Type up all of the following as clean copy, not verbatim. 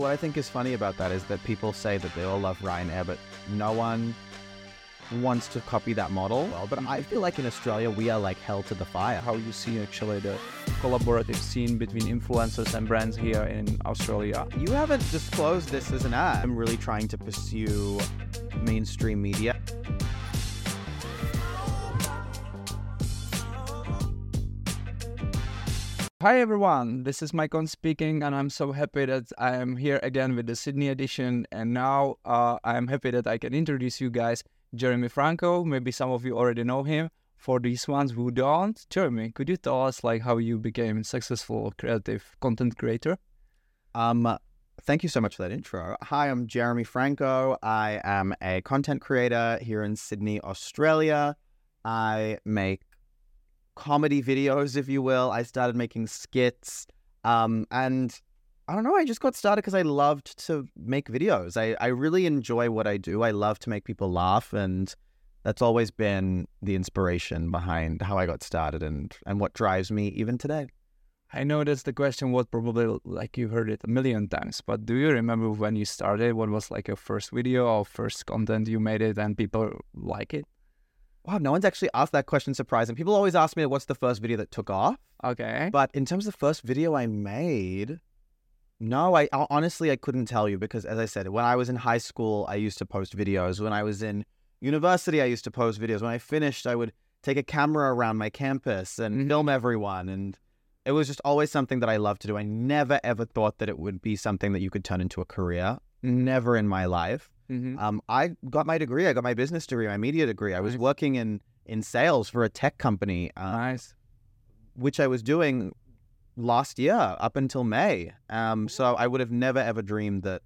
What I think is funny about that is that people say that they all love Ryanair, but no one wants to copy that model. Well, but I feel like in Australia, we are like held to the fire. How you see actually the collaborative scene between influencers and brands here in Australia? You haven't disclosed this as an ad. I'm really trying to pursue mainstream media. Hi everyone, this is Maikon speaking, and I'm so happy that I am here again with the Sydney edition. And now I am happy that I can introduce you guys Jeremy Franco. Maybe some of you already know him. For these ones who don't, Jeremy, could you tell us like how you became a successful creative content creator? Thank you so much for that intro. Hi, I'm Jeremy Franco. I am a content creator here in Sydney, Australia. I make comedy videos, if you will. I started making skits, and I don't know, I just got started because I loved to make videos. I really enjoy what I do. I love to make people laugh, and that's always been the inspiration behind how I got started and what drives me even today. I know that's the question what probably like you heard it a million times, but do you remember when you started? What was like your first video or first content you made it and people like it? Wow, no one's actually asked that question, surprising. People always ask me what's the first video that took off. Okay. But in terms of the first video I made, no, I honestly couldn't tell you because, as I said, when I was in high school, I used to post videos. When I was in university, I used to post videos. When I finished, I would take a camera around my campus and film everyone. And it was just always something that I loved to do. I never, ever thought that it would be something that you could turn into a career. Never in my life. I got my degree. I got my business degree, my media degree. I was working in sales for a tech company, which I was doing last year up until May. So I would have never, ever dreamed that.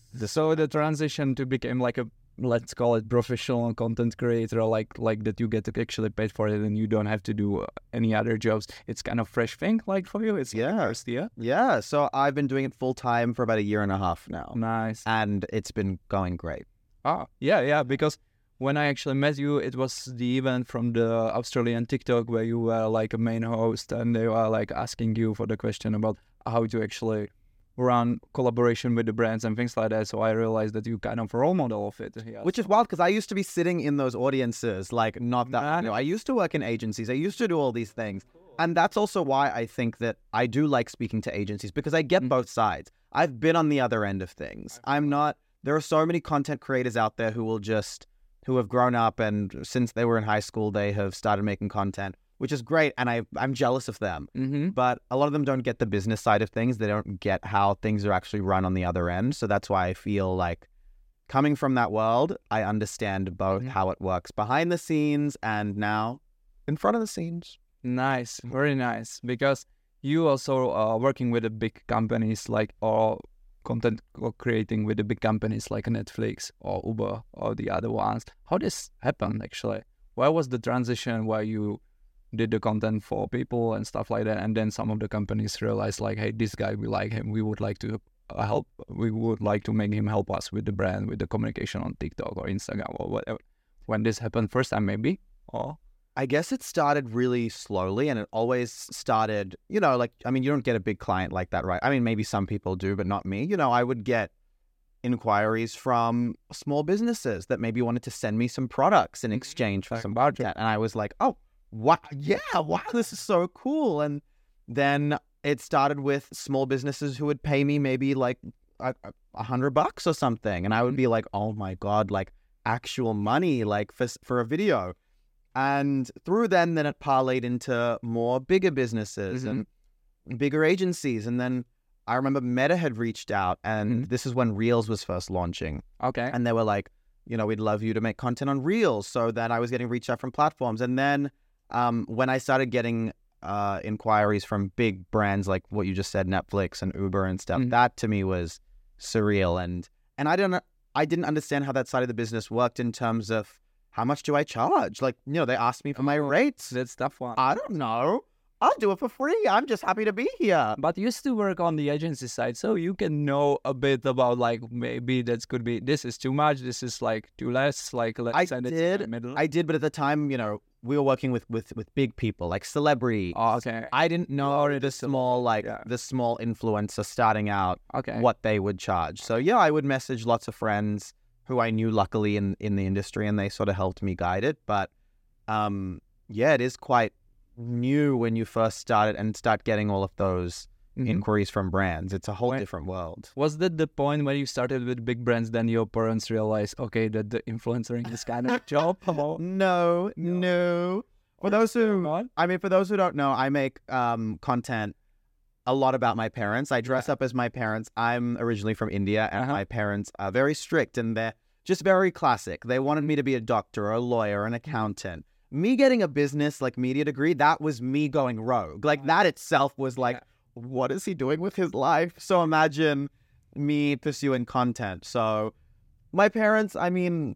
So the transition to become like a, let's call it professional content creator, like that you get to actually paid for it and you don't have to do any other jobs. It's kind of fresh thing like for you. It's first year. Yeah. So I've been doing it full time for about a year and a half now. Nice. And it's been going great. Oh, yeah. Because when I actually met you, it was the event from the Australian TikTok where you were like a main host and they were like asking you for the question about how to actually run collaboration with the brands and things like that. So I realized that you kind of role model of it. Yeah, which is wild because I used to be sitting in those audiences, like not that, I used to work in agencies. I used to do all these things. And that's also why I think that I do like speaking to agencies because I get both sides. I've been on the other end of things. There are so many content creators out there who have grown up and since they were in high school, they have started making content, which is great. And I'm jealous of them. But a lot of them don't get the business side of things. They don't get how things are actually run on the other end. So that's why I feel like coming from that world, I understand both how it works behind the scenes and now in front of the scenes. Nice. Very nice. Because you also are working with the big companies like or content creating with the big companies like Netflix or Uber or the other ones. How this happened actually? Where was the transition where you did the content for people and stuff like that, and then some of the companies realized like, hey, this guy, we like him, we would like to help, we would like to make him help us with the brand, with the communication on TikTok or Instagram or whatever. When this happened first time maybe? Or I guess it started really slowly and it always started, you don't get a big client like that, right? I mean, maybe some people do, but not me. I would get inquiries from small businesses that maybe wanted to send me some products in exchange for some budget. And I was like, oh, wow, this is so cool. And then it started with small businesses who would pay me maybe like $100 or something. And I would be like, oh my God, like actual money, like for a video. And through then it parlayed into more bigger businesses and bigger agencies. And then I remember Meta had reached out and this is when Reels was first launching. Okay. And they were like, we'd love you to make content on Reels. So then I was getting reached out from platforms. And then when I started getting inquiries from big brands like what you just said, Netflix and Uber and stuff, that to me was surreal. And I didn't understand how that side of the business worked in terms of how much do I charge? Like, they asked me for my rates. That's tough one. I don't know. I'll do it for free. I'm just happy to be here. But you used to work on the agency side, so you can know a bit about like maybe that could be this is too much, this is like too less. Like let's send it to the middle. I did, but at the time, we were working with big people like celebrities. Oh, okay. I didn't know the small the small influencer starting out Okay. what they would charge. So yeah, I would message lots of friends who I knew luckily in the industry, and they sort of helped me guide it. But yeah, it is quite new when you first start it and start getting all of those inquiries from brands. It's a whole different world. Was that the point when you started with big brands, then your parents realized, okay, that the influencering is kind of job? No. For those who don't know, I make content a lot about my parents. I dress up as my parents. I'm originally from India, and my parents are very strict, and they're just very classic. They wanted me to be a doctor, a lawyer, an accountant. Me getting a business like media degree, that was me going rogue. Like that itself was like, what is he doing with his life? So imagine me pursuing content. So my parents, I mean,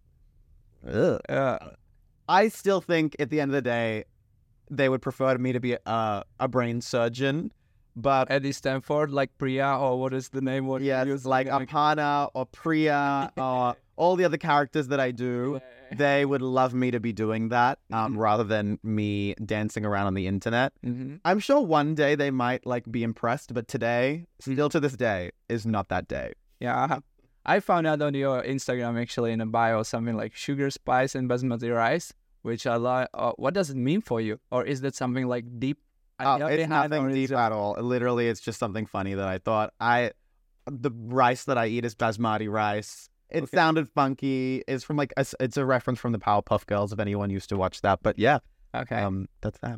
I still think at the end of the day, they would prefer me to be a brain surgeon. But Eddie Stanford, like Priya, or what is the name? What like Aparna or Priya or all the other characters that I do, they would love me to be doing that rather than me dancing around on the internet. I'm sure one day they might like be impressed, but today, still to this day, is not that day. Yeah. I found out on your Instagram actually in a bio something like sugar, spice, and basmati rice, which I like. What does it mean for you? Or is that something like deep? It's nothing deep at all. Literally, it's just something funny that I thought. The rice that I eat is basmati rice. It sounded funky. It's from like it's a reference from the Powerpuff Girls if anyone used to watch that. But yeah, okay, that's that.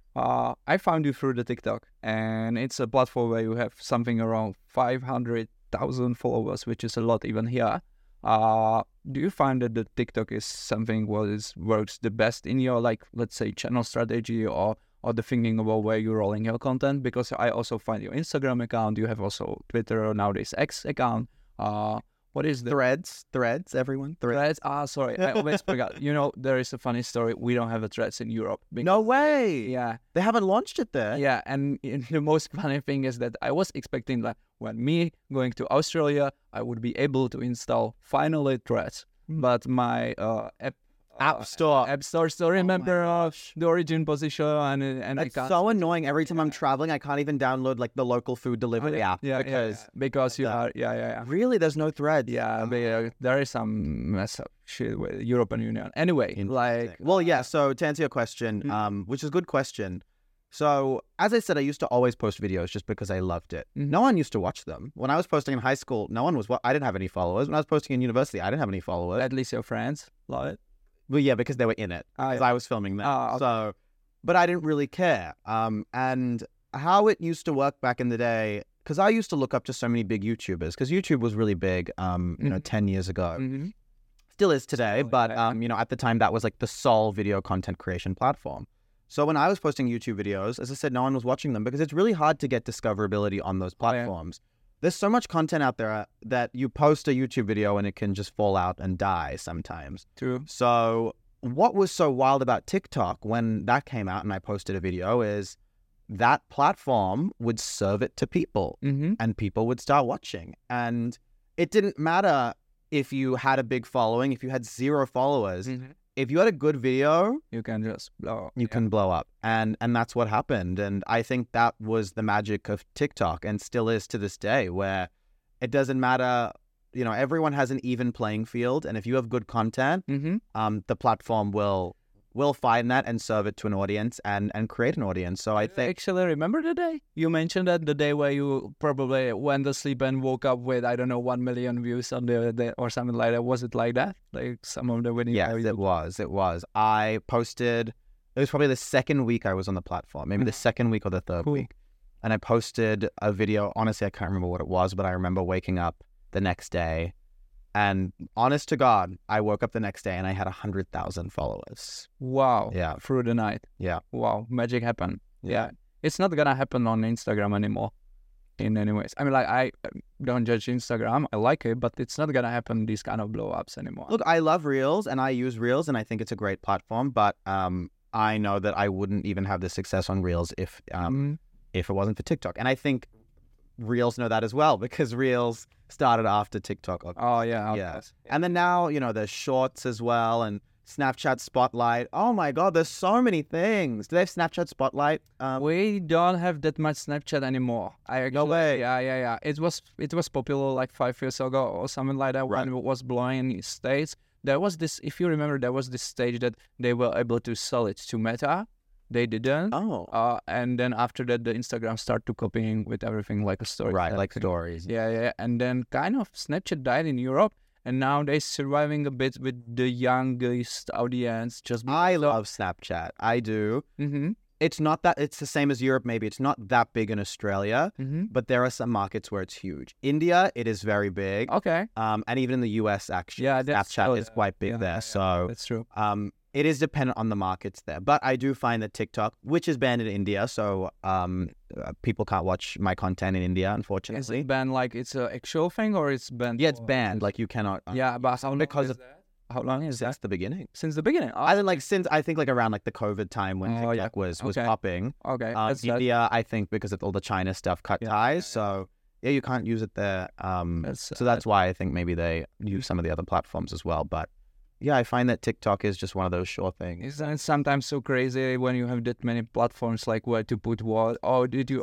I found you through the TikTok, and it's a platform where you have something around 500,000 followers, which is a lot even here. Do you find that the TikTok is something works the best in your like, let's say, channel strategy or the thinking about where you're rolling your content? Because I also find your Instagram account. You have also Twitter or nowadays X account. What is the Threads? Everyone? Threads? Sorry, I always forgot. You know, there is a funny story. We don't have a Threads in Europe. No way. Yeah. They haven't launched it there. Yeah, and the most funny thing is that I was expecting that when me going to Australia, I would be able to install finally Threads. But my App Store still remember the origin position and it's so annoying. Every time I'm traveling, I can't even download like the local food delivery app because you are really there's no Threads. There is some mess up shit with European Union. Anyway, so to answer your question, which is a good question. So as I said, I used to always post videos just because I loved it. No one used to watch them. When I was posting in high school, I didn't have any followers. When I was posting in university, I didn't have any followers. At least your friends love it. Well, yeah, because they were in it. Because I was filming them. Okay. So, but I didn't really care. And how it used to work back in the day, because I used to look up to so many big YouTubers, because YouTube was really big, 10 years ago. Still is today, but, at the time, that was like the sole video content creation platform. So when I was posting YouTube videos, as I said, no one was watching them because it's really hard to get discoverability on those platforms. There's so much content out there that you post a YouTube video and it can just fall out and die sometimes. True. So what was so wild about TikTok when that came out and I posted a video is that platform would serve it to people and people would start watching. And it didn't matter if you had a big following, if you had 0 followers. If you had a good video, you can just blow up. You can blow up. And that's what happened. And I think that was the magic of TikTok and still is to this day, where it doesn't matter, everyone has an even playing field. And if you have good content, the platform will find that and serve it to an audience and create an audience. So I think... Actually, remember the day? You mentioned that the day where you probably went to sleep and woke up with, 1 million views on the day or something like that. Was it like that? Like some of the videos? Yes, it was. I posted... It was probably the second week I was on the platform. Maybe the second week or the third week. And I posted a video. Honestly, I can't remember what it was, but I remember waking up the next day. And honest to God, I woke up the next day and I had 100,000 followers. Wow. Yeah. Through the night. Yeah. Wow. Magic happened. Yeah. It's not going to happen on Instagram anymore in any ways. I mean, like, I don't judge Instagram. I like it, but it's not going to happen, these kind of blow-ups anymore. Look, I love Reels and I use Reels and I think it's a great platform, but I know that I wouldn't even have the success on Reels if it wasn't for TikTok. And I think Reels know that as well because Reels started after TikTok. Oh, yeah. Yeah. And then now, there's Shorts as well. And Snapchat Spotlight. Oh my God, there's so many things. Do they have Snapchat Spotlight? We don't have that much Snapchat anymore. No way. Yeah. It was popular like 5 years ago or something like that when it was blowing in States. There was this, if you remember, there was this stage that they were able to sell it to Meta. They didn't. Oh. And then after that, the Instagram started copying with everything like a story. Right, like stories. Yeah. And then kind of Snapchat died in Europe. And now they're surviving a bit with the youngest audience. I love Snapchat. I do. Mm-hmm. It's not that, it's the same as Europe, maybe. It's not that big in Australia, but there are some markets where it's huge. India, it is very big. Okay. And even in the US, actually, Yeah, Snapchat is quite big there. So that's true. it is dependent on the markets there. But I do find that TikTok, which is banned in India, so people can't watch my content in India, unfortunately. Is it banned like it's an actual thing or it's banned? Yeah, it's banned. Like you cannot. Yeah, but how long is Since that? the beginning. Since the beginning. I think since around like the COVID time when TikTok was popping. Okay. India, I think because of all the China stuff cut ties. So yeah, you can't use it there. So that's why I think maybe they use some of the other platforms as well. But yeah, I find that TikTok is just one of those sure things. Isn't it sometimes so crazy when you have that many platforms, like where to put what? Oh, did you?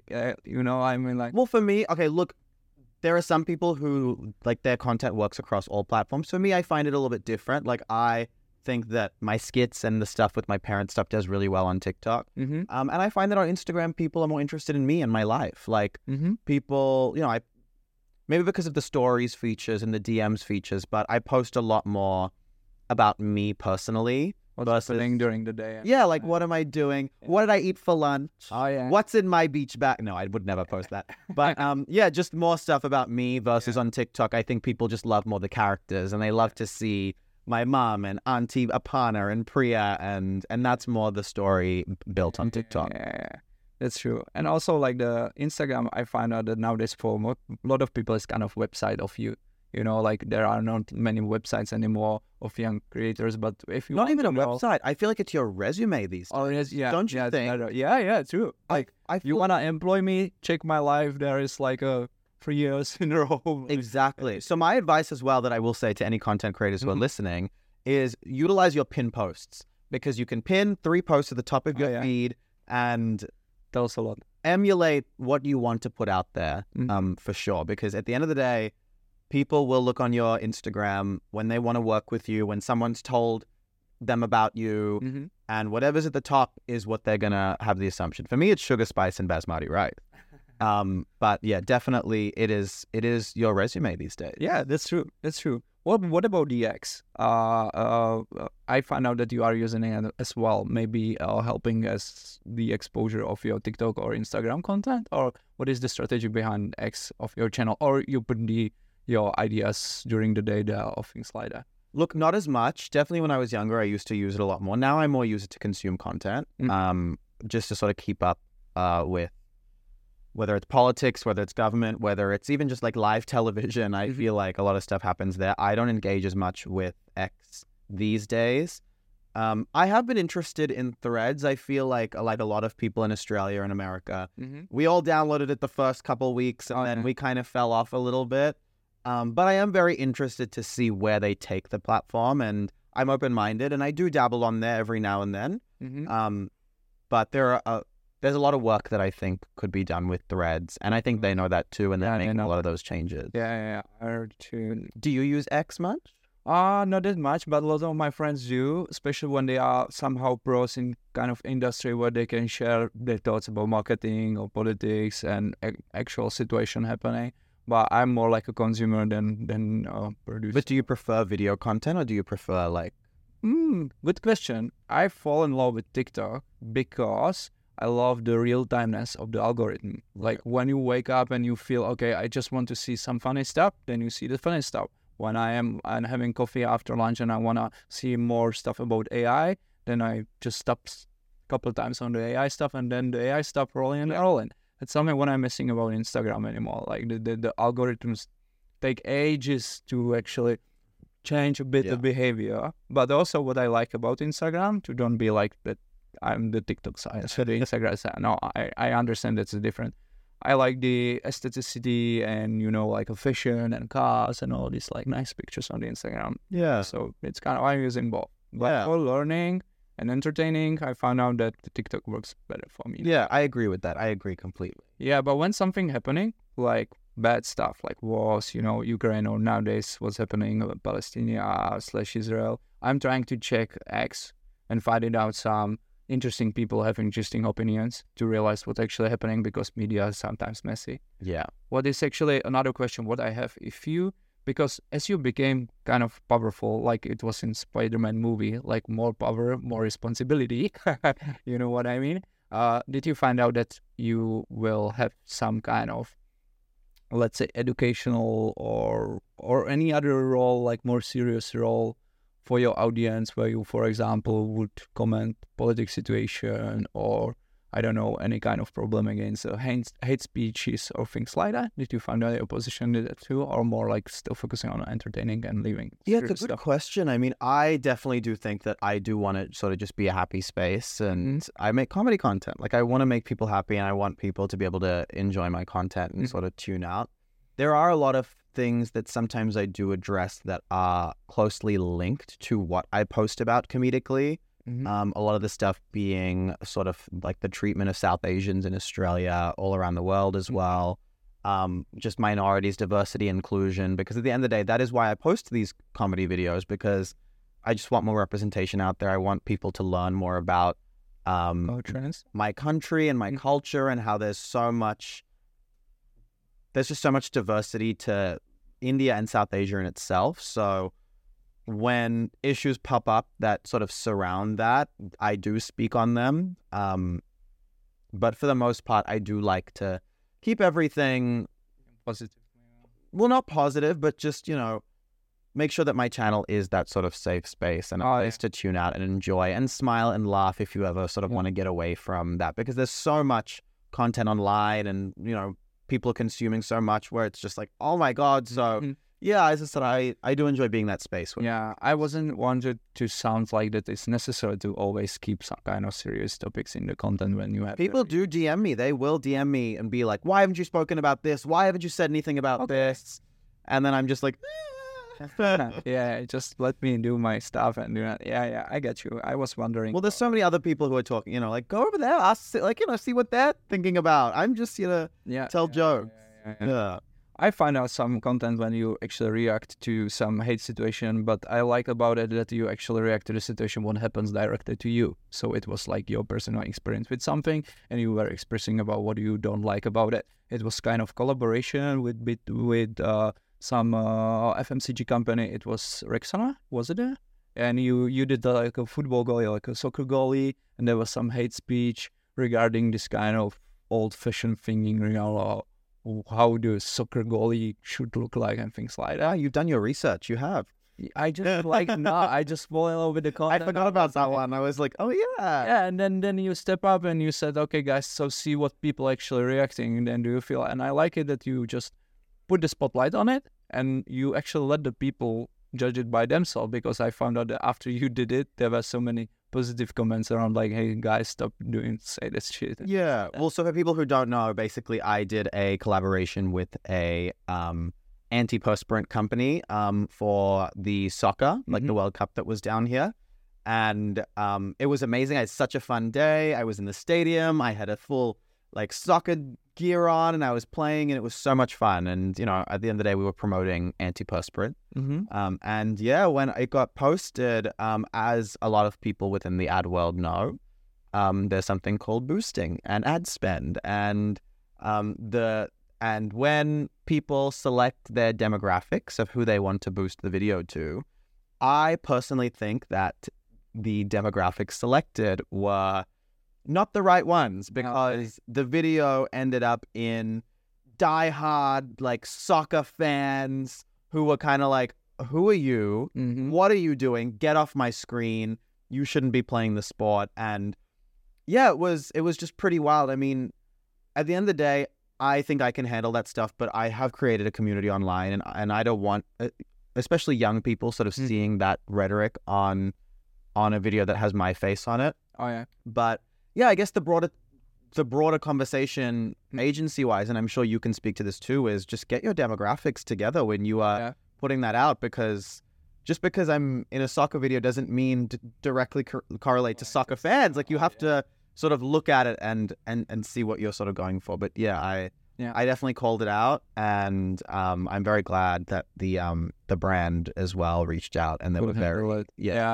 I mean, like. Well, for me, okay, look, there are some people who like their content works across all platforms. For me, I find it a little bit different. Like I think that my skits and the stuff with my parents stuff does really well on TikTok. Mm-hmm. And I find that on Instagram, people are more interested in me and my life. Like people, maybe because of the stories features and the DMs features, but I post a lot more about me personally. What's happening during the day? Yeah, like what am I doing? What did I eat for lunch? Oh yeah. What's in my beach bag? No, I would never post that. But yeah, just more stuff about me versus on TikTok. I think people just love more the characters and they love to see my mom and Auntie Apana and Priya and that's more the story built on TikTok. Yeah. That's true. And also like the Instagram, I find out that nowadays for a lot of people it's kind of website of you. Like there are not many websites anymore of young creators, but if you not even a website, I feel like it's your resume these days. Oh yes, yeah. Don't you think? Yeah, true. Like you wanna employ me, check my life. There is like 3 years in a row. Exactly. So my advice as well that I will say to any content creators who are listening is utilize your pin posts because you can pin 3 posts at the top of your feed and tells a lot. Emulate what you want to put out there, for sure. Because at the end of the day, people will look on your Instagram when they want to work with you, when someone's told them about you, and whatever's at the top is what they're going to have the assumption. For me, it's Sugar Spice and Basmati Rice. But yeah, definitely it is your resume these days. Yeah, that's true. What about the X? I found out that you are using it as well, maybe helping as the exposure of your TikTok or Instagram content, or what is the strategy behind X of your channel, or you put your ideas during the day there or things like that? Look, not as much. Definitely when I was younger, I used to use it a lot more. Now I more use it to consume content, just to sort of keep up with whether it's politics, whether it's government, whether it's even just like live television. I feel like a lot of stuff happens there. I don't engage as much with X these days. I have been interested in Threads. I feel like a lot of people in Australia and America, we all downloaded it the first couple weeks and then we kind of fell off a little bit. But I am very interested to see where they take the platform, and I'm open-minded, and I do dabble on there every now and then. But there's a lot of work that I think could be done with Threads, and I think they know that too, and they're making a lot of those changes. Yeah. I heard too. Do you use X much? Not that much, but a lot of my friends do, especially when they are somehow pros in kind of industry where they can share their thoughts about marketing or politics and actual situation happening. But I'm more like a consumer than producer. But do you prefer video content or do you prefer like... Good question. I fall in love with TikTok because I love the real-timeness of the algorithm. Like when you wake up and you feel, okay, I just want to see some funny stuff, then you see the funny stuff. When I'm having coffee after lunch and I want to see more stuff about AI, then I just stop a couple times on the AI stuff and then the AI stuff rolling. It's something what I'm missing about Instagram anymore. Like the algorithms take ages to actually change a bit the behavior. But also what I like about Instagram, to don't be like that I'm the TikTok side, so the Instagram side. No, I understand that's different. I like the aestheticity and, like a fashion and cars and all these like nice pictures on the Instagram. Yeah. So it's kind of, I'm using both. But Yeah. for learning and entertaining, I found out that the TikTok works better for me. Yeah, I agree with that. I agree completely. Yeah, but when something happening, like bad stuff, like wars, Ukraine, or nowadays what's happening Palestine/Israel, I'm trying to check X and finding out some interesting people having interesting opinions to realize what's actually happening, because media is sometimes messy. Yeah. What is actually another question what I have, because as you became kind of powerful, like it was in Spider-Man movie, like more power, more responsibility, you know what I mean? Did you find out that you will have some kind of, let's say, educational or any other role, like more serious role for your audience, where you, for example, would comment political situation, or I don't know, any kind of problem against hate speeches or things like that? Did you find out your position did that too, or more like still focusing on entertaining and leaving? Yeah, it's a good question. I mean, I definitely do think that I do want to sort of just be a happy space, and I make comedy content. Like, I want to make people happy, and I want people to be able to enjoy my content and sort of tune out. There are a lot of things that sometimes I do address that are closely linked to what I post about comedically. A lot of the stuff being sort of like the treatment of South Asians in Australia, all around the world as well. Just minorities, diversity, inclusion, because at the end of the day, that is why I post these comedy videos, because I just want more representation out there. I want people to learn more about my country and my culture, and how there's just so much diversity to India and South Asia in itself. So when issues pop up that sort of surround that, I do speak on them. But for the most part, I do like to keep everything positive. Well, not positive, but just, make sure that my channel is that sort of safe space and a place to tune out and enjoy and smile and laugh if you ever sort of want to get away from that, because there's so much content online, and, people are consuming so much where it's just like, oh my God. So yeah, as I said, I do enjoy being that space. Yeah, I wasn't wanted to sound like that it's necessary to always keep some kind of serious topics in the content when you have... People do DM me. They will DM me and be like, why haven't you spoken about this? Why haven't you said anything about this? And then I'm just like... yeah, just let me do my stuff and do that. Yeah, I get you. I was wondering. Well, there's so many other people who are talking, like, go over there, ask, see what they're thinking about. I'm just, tell jokes. Yeah. I find out some content when you actually react to some hate situation, but I like about it that you actually react to the situation what happens directly to you. So it was like your personal experience with something, and you were expressing about what you don't like about it. It was kind of collaboration with some FMCG company. It was Rexona, was it? And you did like a football goalie, like a soccer goalie, and there was some hate speech regarding this kind of old-fashioned thinking, how the soccer goalie should look like and things like that. You've done your research. You have. I just I just fall in love with the content. I forgot about that one. I was like, oh yeah. Yeah, and then you step up and you said, okay, guys, so see what people actually reacting, and then do you feel? And I like it that you just put the spotlight on it, and you actually let the people judge it by themselves, because I found out that after you did it, there were so many positive comments around like, hey guys, stop say this shit. Yeah. Well, so for people who don't know, basically I did a collaboration with a antiperspirant company for the soccer, like the World Cup that was down here. And it was amazing. I had such a fun day. I was in the stadium. I had a full like soccer gear on, and I was playing, and it was so much fun. And, at the end of the day, we were promoting antiperspirant. And yeah, when it got posted, as a lot of people within the ad world know, there's something called boosting and ad spend. And when people select their demographics of who they want to boost the video to, I personally think that the demographics selected were not the right ones, because the video ended up in diehard like soccer fans who were kind of like, who are you? What are you doing? Get off my screen. You shouldn't be playing the sport. And yeah, it was just pretty wild. I mean, at the end of the day, I think I can handle that stuff, but I have created a community online, and I don't want, especially young people, sort of seeing that rhetoric on a video that has my face on it. Oh yeah. But yeah, I guess the broader conversation agency-wise, and I'm sure you can speak to this too, is just get your demographics together when you are putting that out, because just because I'm in a soccer video doesn't mean directly correlate to soccer fans. Like you have to sort of look at it and see what you're sort of going for. But yeah, I definitely called it out, and I'm very glad that the brand as well reached out, and they were very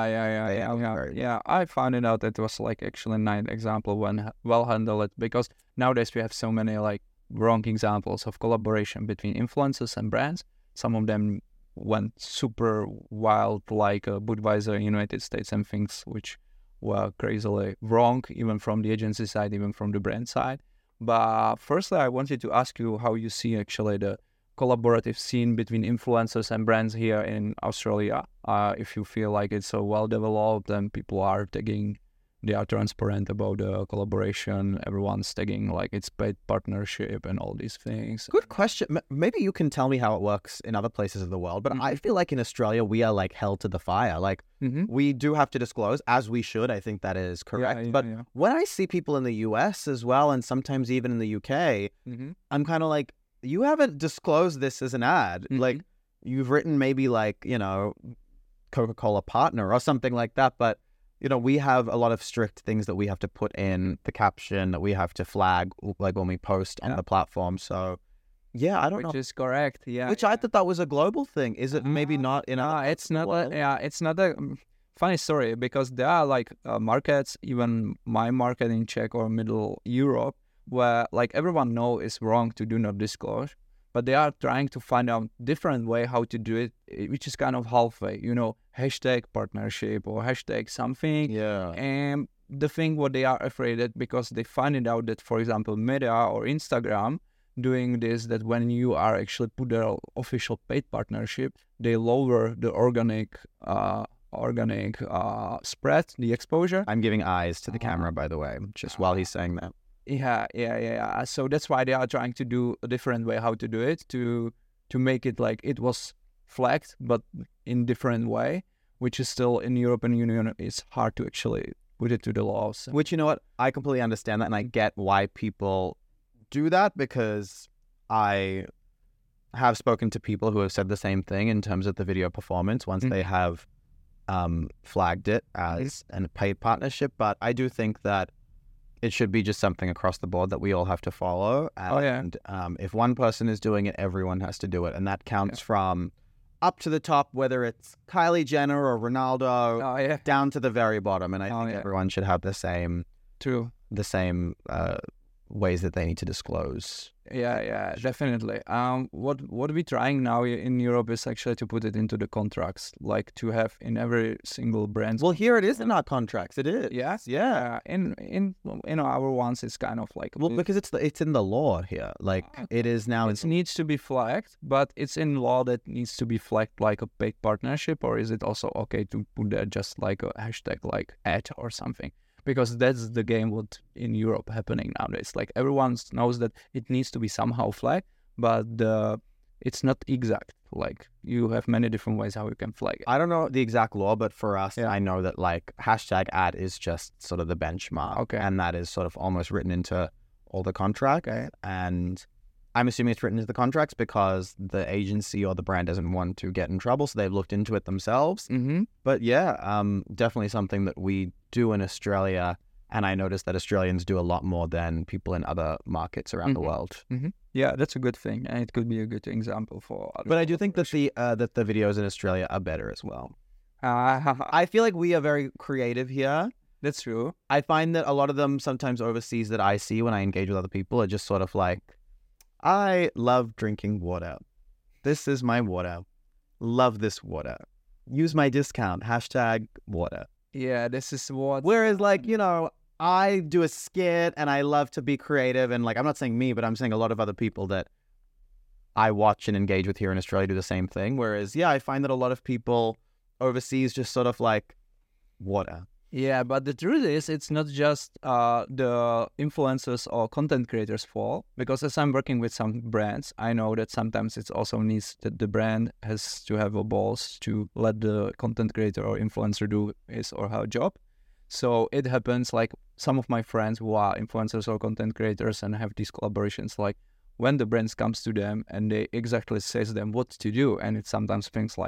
yeah. I found it out that it was like actually a nice example when well handled, because nowadays we have so many like wrong examples of collaboration between influencers and brands. Some of them went super wild, like Budweiser in United States, and things which were crazily wrong, even from the agency side, even from the brand side. But firstly, I wanted to ask you how you see actually the collaborative scene between influencers and brands here in Australia. If you feel like it's so well developed and people are tagging, they are transparent about the collaboration, everyone's tagging like it's paid partnership and all these things. Good question. Maybe you can tell me how it works in other places of the world, but I feel like in Australia, we are like held to the fire. Like we do have to disclose, as we should. I think that is correct. But when I see people in the US as well, and sometimes even in the UK, I'm kind of like, you haven't disclosed this as an ad. Like you've written maybe like, you know, Coca-Cola partner or something like that. But you know, we have a lot of strict things that we have to put in the caption, that we have to flag, like when we post on the platform. So, yeah, I don't know. Which is correct, yeah. Which I thought that was a global thing. Is it maybe not in it's not it's not a funny story, because there are like markets, even my market in Czech or Middle Europe, where like everyone know it's wrong to do not disclose, but they are trying to find out different way how to do it, which is kind of halfway, you know, hashtag partnership or hashtag something. Yeah. And the thing what they are afraid of, because they find it out that, for example, Meta or Instagram doing this, that when you are actually put their official paid partnership, they lower the organic spread, the exposure. I'm giving eyes to the camera, by the way, just while he's saying that. Yeah. So that's why they are trying to do a different way how to do it, to make it like it was flagged, but in different way, which is still in European Union, it's hard to actually put it to the laws. Which, you know what, I completely understand that, and I get why people do that, because I have spoken to people who have said the same thing in terms of the video performance once they have flagged it as a paid partnership. But I do think that it should be just something across the board that we all have to follow. And if one person is doing it, everyone has to do it. And that counts from up to the top, whether it's Kylie Jenner or Ronaldo, down to the very bottom. And I think everyone should have the same ways that they need to disclose. Yeah, definitely. What we're trying now in Europe is actually to put it into the contracts, like to have in every single brand. Well, here it is in our contracts. It is. Yes. Yeah. In our ones, it's kind of like because it's in the law here. Like it is now. It needs to be flagged, but it's in law that needs to be flagged like a paid partnership, or is it also okay to put there just like a hashtag like ad or something? Because that's the game what in Europe happening nowadays. Like everyone knows that it needs to be somehow flagged, but it's not exact. Like you have many different ways how you can flag it. I don't know the exact law, but for us, I know that like hashtag ad is just sort of the benchmark. Okay. And that is sort of almost written into all the contracts. Okay. And I'm assuming it's written into the contracts because the agency or the brand doesn't want to get in trouble, so they've looked into it themselves. But yeah, definitely something that we do in Australia, and I noticed that Australians do a lot more than people in other markets around the world. Yeah, that's a good thing, and it could be a good example for others. But I do think that the videos in Australia are better as well. I feel like we are very creative here. That's true. I find that a lot of them sometimes overseas that I see when I engage with other people are just sort of like, I love drinking water. This is my water. Love this water. Use my discount. Hashtag water. Yeah, this is what... Whereas, like, you know, I do a skit and I love to be creative. And, like, I'm not saying me, but I'm saying a lot of other people that I watch and engage with here in Australia do the same thing. Whereas, yeah, I find that a lot of people overseas just sort of like water. Yeah, but the truth is, it's not just the influencers or content creators' fault. Because as I'm working with some brands, I know that sometimes it also needs that the brand has to have a balls to let the content creator or influencer do his or her job. So it happens like some of my friends who are influencers or content creators and have these collaborations, like when the brands comes to them and they exactly says them what to do, and it's sometimes things like that.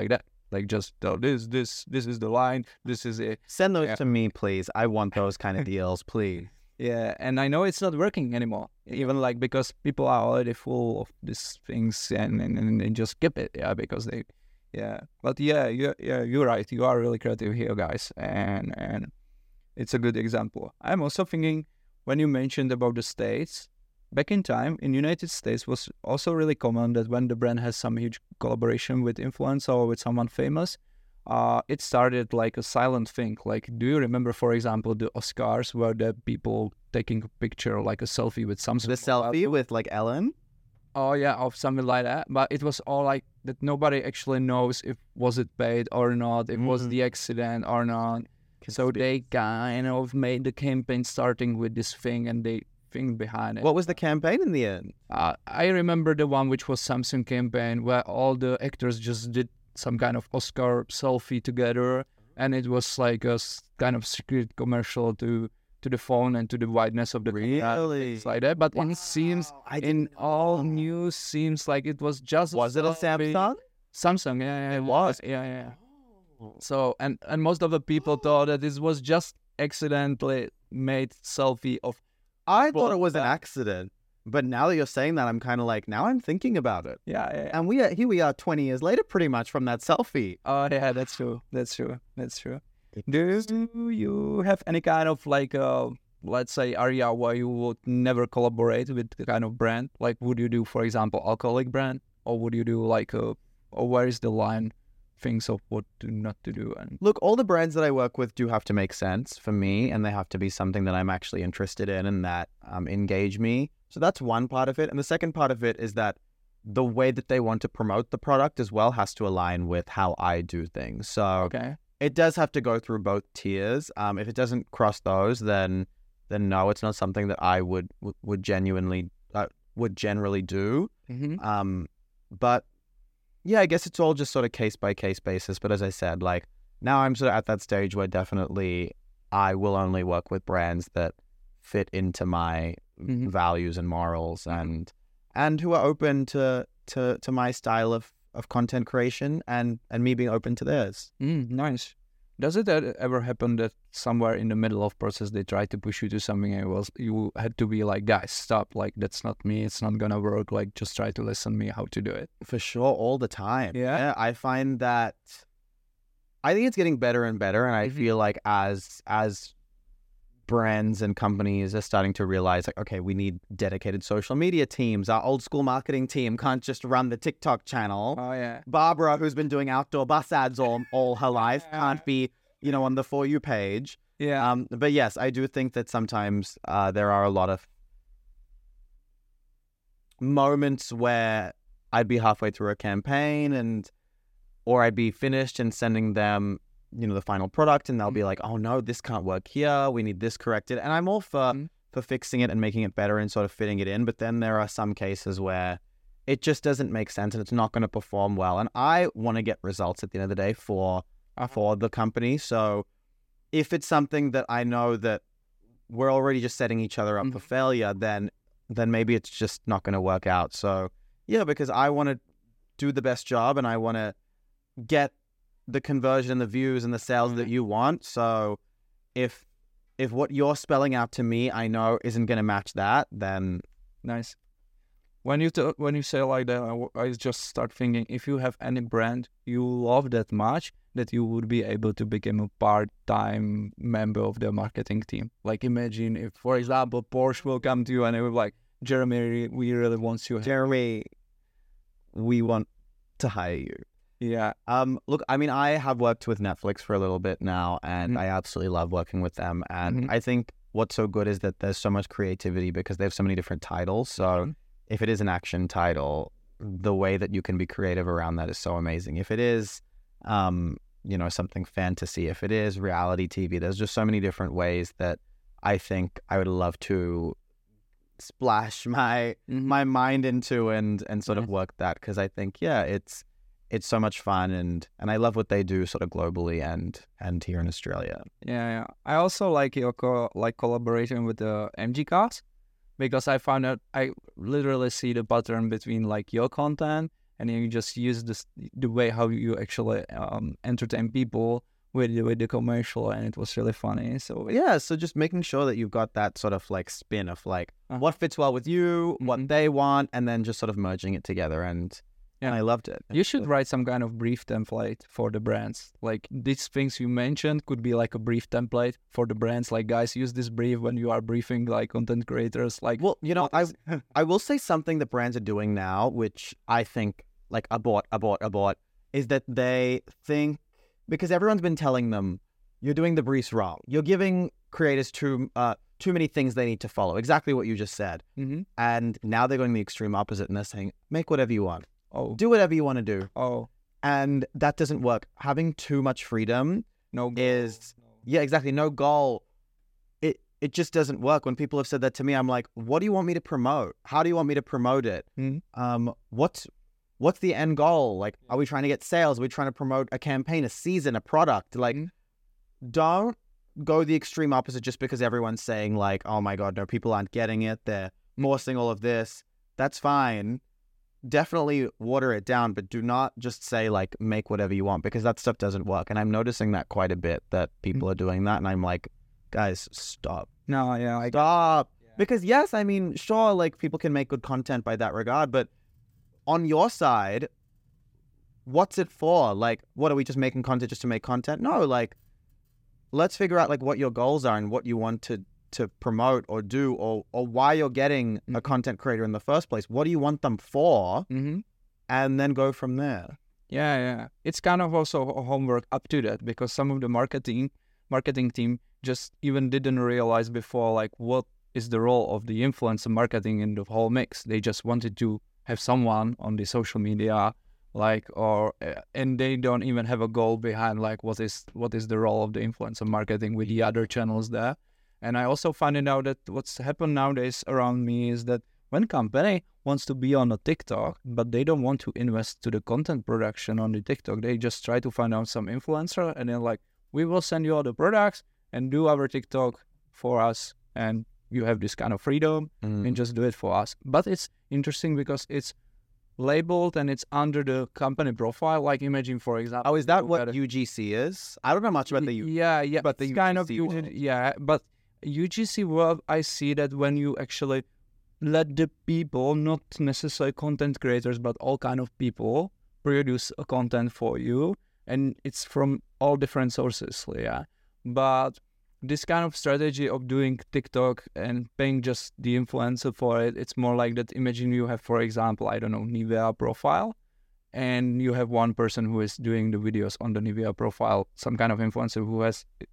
Like just tell this is the line, this is it. Send those Yeah. to me, please. I want those kind of deals, please. Yeah, and I know it's not working anymore. Even like because people are already full of these things and they just skip it. Yeah, because they, yeah. But you're right. You are really creative here, guys, and it's a good example. I'm also thinking when you mentioned about the States, back in time in United States was also really common that when the brand has some huge collaboration with influencer or with someone famous, it started like a silent thing. Like, do you remember, for example, the Oscars where the people taking a picture, like a selfie with Samsung? The selfie with like Ellen. Oh yeah, or something like that. But it was all like that. Nobody actually knows if was it paid or not. If was the accident or not. So they kind of made the campaign starting with this thing and they think behind it. What was the campaign in the end? I remember the one which was Samsung campaign where all the actors just did some kind of Oscar selfie together, and it was like a kind of secret commercial to the phone and to the wideness of the camera, things like that. But it seems in all news seems like it was just Was it a Samsung? Samsung, yeah, It was. yeah. So and most of the people thought that this was just accidentally made selfie of. I thought it was an accident, but now that you're saying that, I'm kind of like, now I'm thinking about it. Yeah. And here we are 20 years later, pretty much from that selfie. Oh yeah, that's true. Do you have any kind of like let's say area where you would never collaborate with the kind of brand? Like, would you do, for example, alcoholic brand, or would you do like or where is the line? Things of what to not to do? And Look, all the brands that I work with do have to make sense for me, and they have to be something that I'm actually interested in and that engage me. So that's one part of it. And the second part of it is that the way that they want to promote the product as well has to align with how I do things. So okay, it does have to go through both tiers. If it doesn't cross those, then no, it's not something that I would generally do. But yeah, I guess it's all just sort of case by case basis. But as I said, like now I'm sort of at that stage where definitely I will only work with brands that fit into my values and morals and who are open to my style of content creation and me being open to theirs. Nice. Does it ever happen that somewhere in the middle of process they try to push you to something and you had to be like, guys, stop, like that's not me, it's not gonna work, like just try to listen me how to do it? For sure, all the time. Yeah. I find that I think it's getting better and better, and I feel like as brands and companies are starting to realize like, okay, we need dedicated social media teams. Our old school marketing team can't just run the TikTok channel. Oh yeah. Barbara, who's been doing outdoor bus ads all her life, can't be, on the For You page. Yeah. But yes, I do think that sometimes there are a lot of moments where I'd be halfway through a campaign or I'd be finished and sending them the final product, and they'll be like, oh no, this can't work here, we need this corrected. And I'm all for fixing it and making it better and sort of fitting it in. But then there are some cases where it just doesn't make sense and it's not going to perform well. And I want to get results at the end of the day for the company. So if it's something that I know that we're already just setting each other up for failure, then maybe it's just not going to work out. So yeah, because I want to do the best job and I want to get the conversion, the views, and the sales that you want. So if what you're spelling out to me, I know isn't going to match that, then nice. When you say like that, I just start thinking, if you have any brand you love that much that you would be able to become a part-time member of the marketing team. Like imagine if, for example, Porsche will come to you and it will be like, Jeremy, we really want you. Jeremy, we want to hire you. Yeah. Look, I mean, I have worked with Netflix for a little bit now, and I absolutely love working with them. And I think what's so good is that there's so much creativity because they have so many different titles. So if it is an action title, the way that you can be creative around that is so amazing. If it is, something fantasy, if it is reality TV, there's just so many different ways that I think I would love to splash my mind into and sort of work that, because I think, it's so much fun, and I love what they do sort of globally and here in Australia. Yeah. I also like your collaboration with the MG Cars, because I found out I literally see the pattern between like your content and you just use the way how you actually entertain people with the commercial, and it was really funny. So Yeah, so just making sure that you've got that sort of like spin of like what fits well with you, what they want, and then just sort of merging it together. And I loved it. You should write some kind of brief template for the brands. Like these things you mentioned could be like a brief template for the brands. Like, guys, use this brief when you are briefing like content creators. Like, well, you know, I will say something that brands are doing now, which I think like abort, is that they think, because everyone's been telling them you're doing the briefs wrong. You're giving creators too many things they need to follow. Exactly what you just said. And now they're going the extreme opposite, and they're saying, make whatever you want. Oh, do whatever you want to do. Oh, and that doesn't work. Having too much freedom yeah, exactly. No goal. It just doesn't work. When people have said that to me, I'm like, what do you want me to promote? How do you want me to promote it? What's the end goal? Like, are we trying to get sales? Are we trying to promote a campaign, a season, a product? Like, don't go the extreme opposite just because everyone's saying like, oh my God, no, people aren't getting it. They're forcing all of this. That's fine. Definitely water it down, but do not just say like, make whatever you want, because that stuff doesn't work. And I'm noticing that quite a bit, that people are doing that. And I'm like, guys, stop. No, yeah. Stop. Yeah. Because yes, I mean, sure, like people can make good content by that regard, but on your side, what's it for? Like, what are we just making content just to make content? No, like, let's figure out like what your goals are and what you want to promote or do, or why you're getting a content creator in the first place. What do you want them for? And then go from there. Yeah. It's kind of also homework up to that, because some of the marketing team just even didn't realize before like what is the role of the influencer marketing in the whole mix. They just wanted to have someone on the social media, like, and they don't even have a goal behind like what is the role of the influencer marketing with the other channels there. And I also find out that what's happened nowadays around me is that when company wants to be on a TikTok, but they don't want to invest to the content production on the TikTok, they just try to find out some influencer and then like, we will send you all the products and do our TikTok for us. And you have this kind of freedom and just do it for us. But it's interesting because it's labeled and it's under the company profile. Like imagine, for example. Oh, is that what UGC is? I don't know much about the UGC. But the kind UGC of world. Yeah, but UGC world, I see that when you actually let the people, not necessarily content creators, but all kind of people produce a content for you, and it's from all different sources, yeah. But this kind of strategy of doing TikTok and paying just the influencer for it, it's more like that. Imagine you have, for example, I don't know, Nivea profile, and you have one person who is doing the videos on the Nivea profile, some kind of influencer who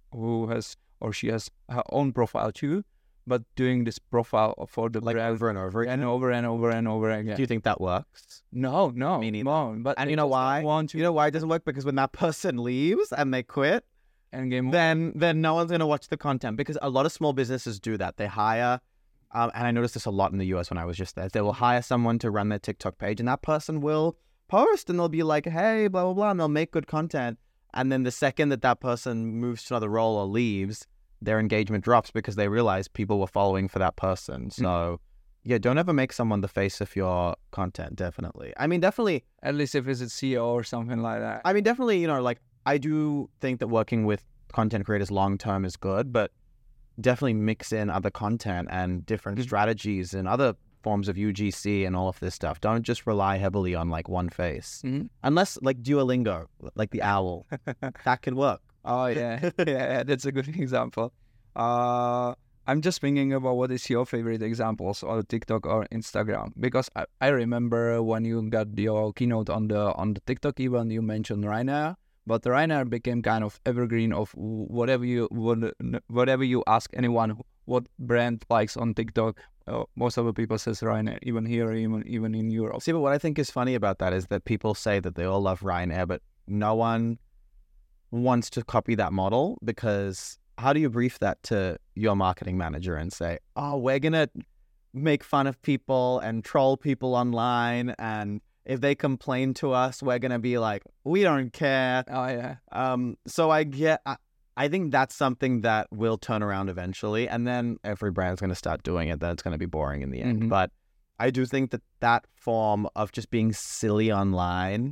has or she has her own profile too, but doing this profile for the like brand over and over again. and over and over and over again. Do you think that works? No, Me neither. no. But And you know why? You know why it doesn't work? Because when that person leaves and they quit, and game then no one's going to watch the content, because a lot of small businesses do that. They hire, and I noticed this a lot in the US when I was just there. They will hire someone to run their TikTok page, and that person will post and they'll be like, hey, blah, blah, blah, and they'll make good content. And then the second that person moves to another role or leaves, their engagement drops because they realize people were following for that person. So yeah, don't ever make someone the face of your content, definitely. I mean, definitely. At least if it's a CEO or something like that. I mean, definitely, like, I do think that working with content creators long-term is good, but definitely mix in other content and different strategies and other forms of UGC and all of this stuff. Don't just rely heavily on like one face. Unless like Duolingo, like the owl, that can work. Oh yeah, yeah, that's a good example. I'm just thinking about what is your favorite examples on TikTok or Instagram, because I remember when you got your keynote on the TikTok event, you mentioned Ryanair, but Ryanair became kind of evergreen of whatever you ask anyone what brand likes on TikTok. Most of the people says Ryanair, even here, even in Europe. See, but what I think is funny about that is that people say that they all love Ryanair, but no one wants to copy that model, because how do you brief that to your marketing manager and say, oh, we're going to make fun of people and troll people online, and if they complain to us, we're going to be like, we don't care. Oh, yeah. So I think that's something that will turn around eventually, and then every brand's going to start doing it. That's going to be boring in the end. But I do think that that form of just being silly online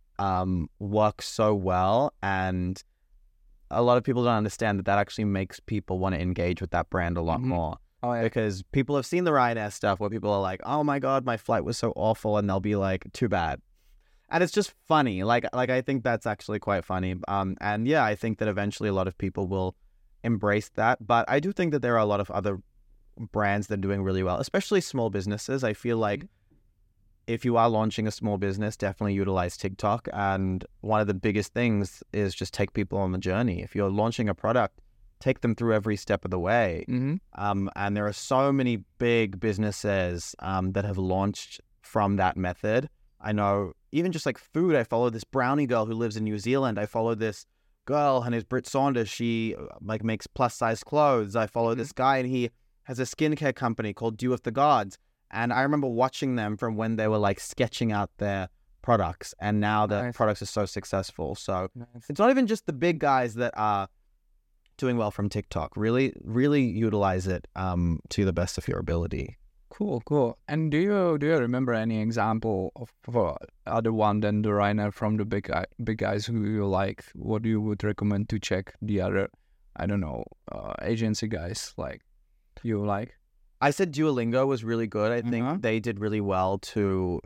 works so well, and a lot of people don't understand that that actually makes people want to engage with that brand a lot more. Oh, yeah. Because people have seen the Ryanair stuff where people are like, oh my God, my flight was so awful, and they'll be like, too bad. And it's just funny. Like I think that's actually quite funny. And yeah, I think that eventually a lot of people will embrace that. But I do think that there are a lot of other brands that are doing really well, especially small businesses. I feel like if you are launching a small business, definitely utilize TikTok. And one of the biggest things is just take people on the journey. If you're launching a product, take them through every step of the way. And there are so many big businesses that have launched from that method. I know even just like food, I follow this brownie girl who lives in New Zealand. I follow this girl, her name's Britt Saunders. She like makes plus size clothes. I follow this guy, and he has a skincare company called Dew of the Gods. And I remember watching them from when they were like sketching out their products, and now the products are so successful. So it's not even just the big guys that are doing well from TikTok. Really, really utilize it to the best of your ability. Cool. And do you remember any example of other one than the Ryanair from the big guys who you like? What you would recommend to check the other, I don't know, agency guys like you like? I said Duolingo was really good. I think they did really well to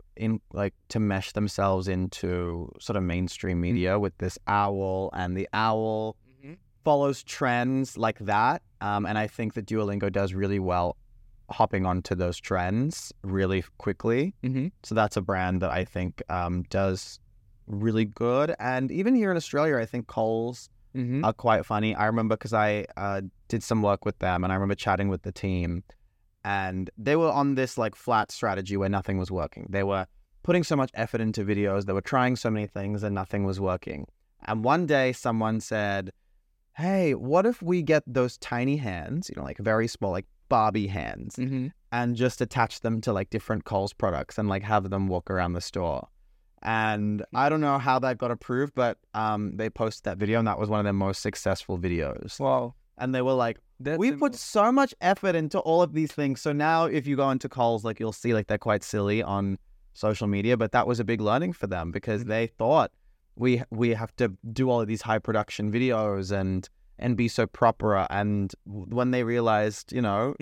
mesh themselves into sort of mainstream media with this owl, and the owl follows trends like that. And I think that Duolingo does really well hopping onto those trends really quickly. So that's a brand that I think does really good. And even here in Australia, I think Coles are quite funny. I remember because I did some work with them, and I remember chatting with the team, and they were on this like flat strategy where nothing was working. They were putting so much effort into videos. They were trying so many things, and nothing was working. And one day someone said, hey, what if we get those tiny hands, like very small, like Barbie hands, and just attach them to like different Coles products and like have them walk around the store. And I don't know how that got approved, but they posted that video, and that was one of their most successful videos. Wow. And they were like, we put so much effort into all of these things. So now if you go into Coles, like you'll see like they're quite silly on social media, but that was a big learning for them because they thought we have to do all of these high production videos and be so proper. And when they realized,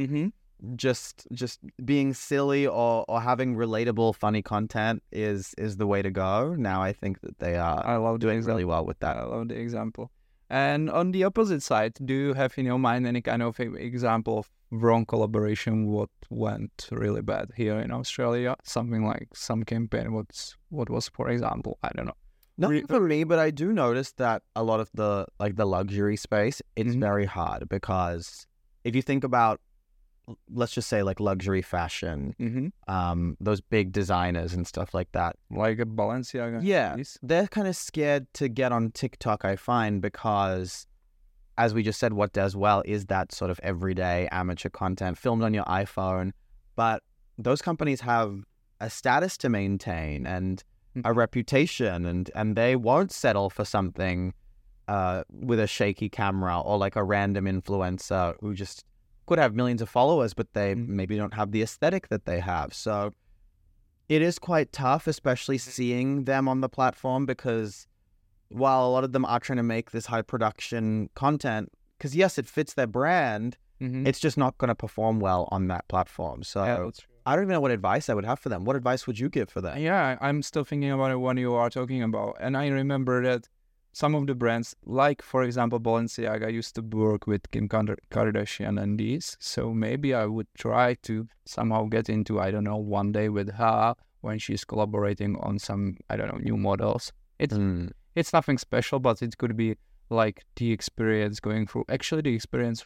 just being silly or having relatable, funny content is the way to go. Now I think that they are doing really well with that. I love the example. And on the opposite side, do you have in your mind any kind of example of wrong collaboration, what went really bad here in Australia? Something like some campaign, what was, for example, I don't know. Nothing for me, but I do notice that a lot of the luxury space, it's very hard because if you think about, let's just say like luxury fashion, those big designers and stuff like that. Like a Balenciaga. Yeah, they're kind of scared to get on TikTok, I find, because as we just said, what does well is that sort of everyday amateur content filmed on your iPhone. But those companies have a status to maintain and a reputation, and they won't settle for something with a shaky camera or like a random influencer who just could have millions of followers, but they maybe don't have the aesthetic that they have. So it is quite tough, especially seeing them on the platform, because while a lot of them are trying to make this high production content, because yes, it fits their brand, it's just not going to perform well on that platform. So I don't even know what advice I would have for them. What advice would you give for that? Yeah, I'm still thinking about it when you are talking about. And I remember that some of the brands, like, for example, Balenciaga, used to work with Kim Kardashian and these. So maybe I would try to somehow get into, I don't know, one day with her when she's collaborating on some, I don't know, new models. It's nothing special, but it could be like the experience going through. Actually, the experience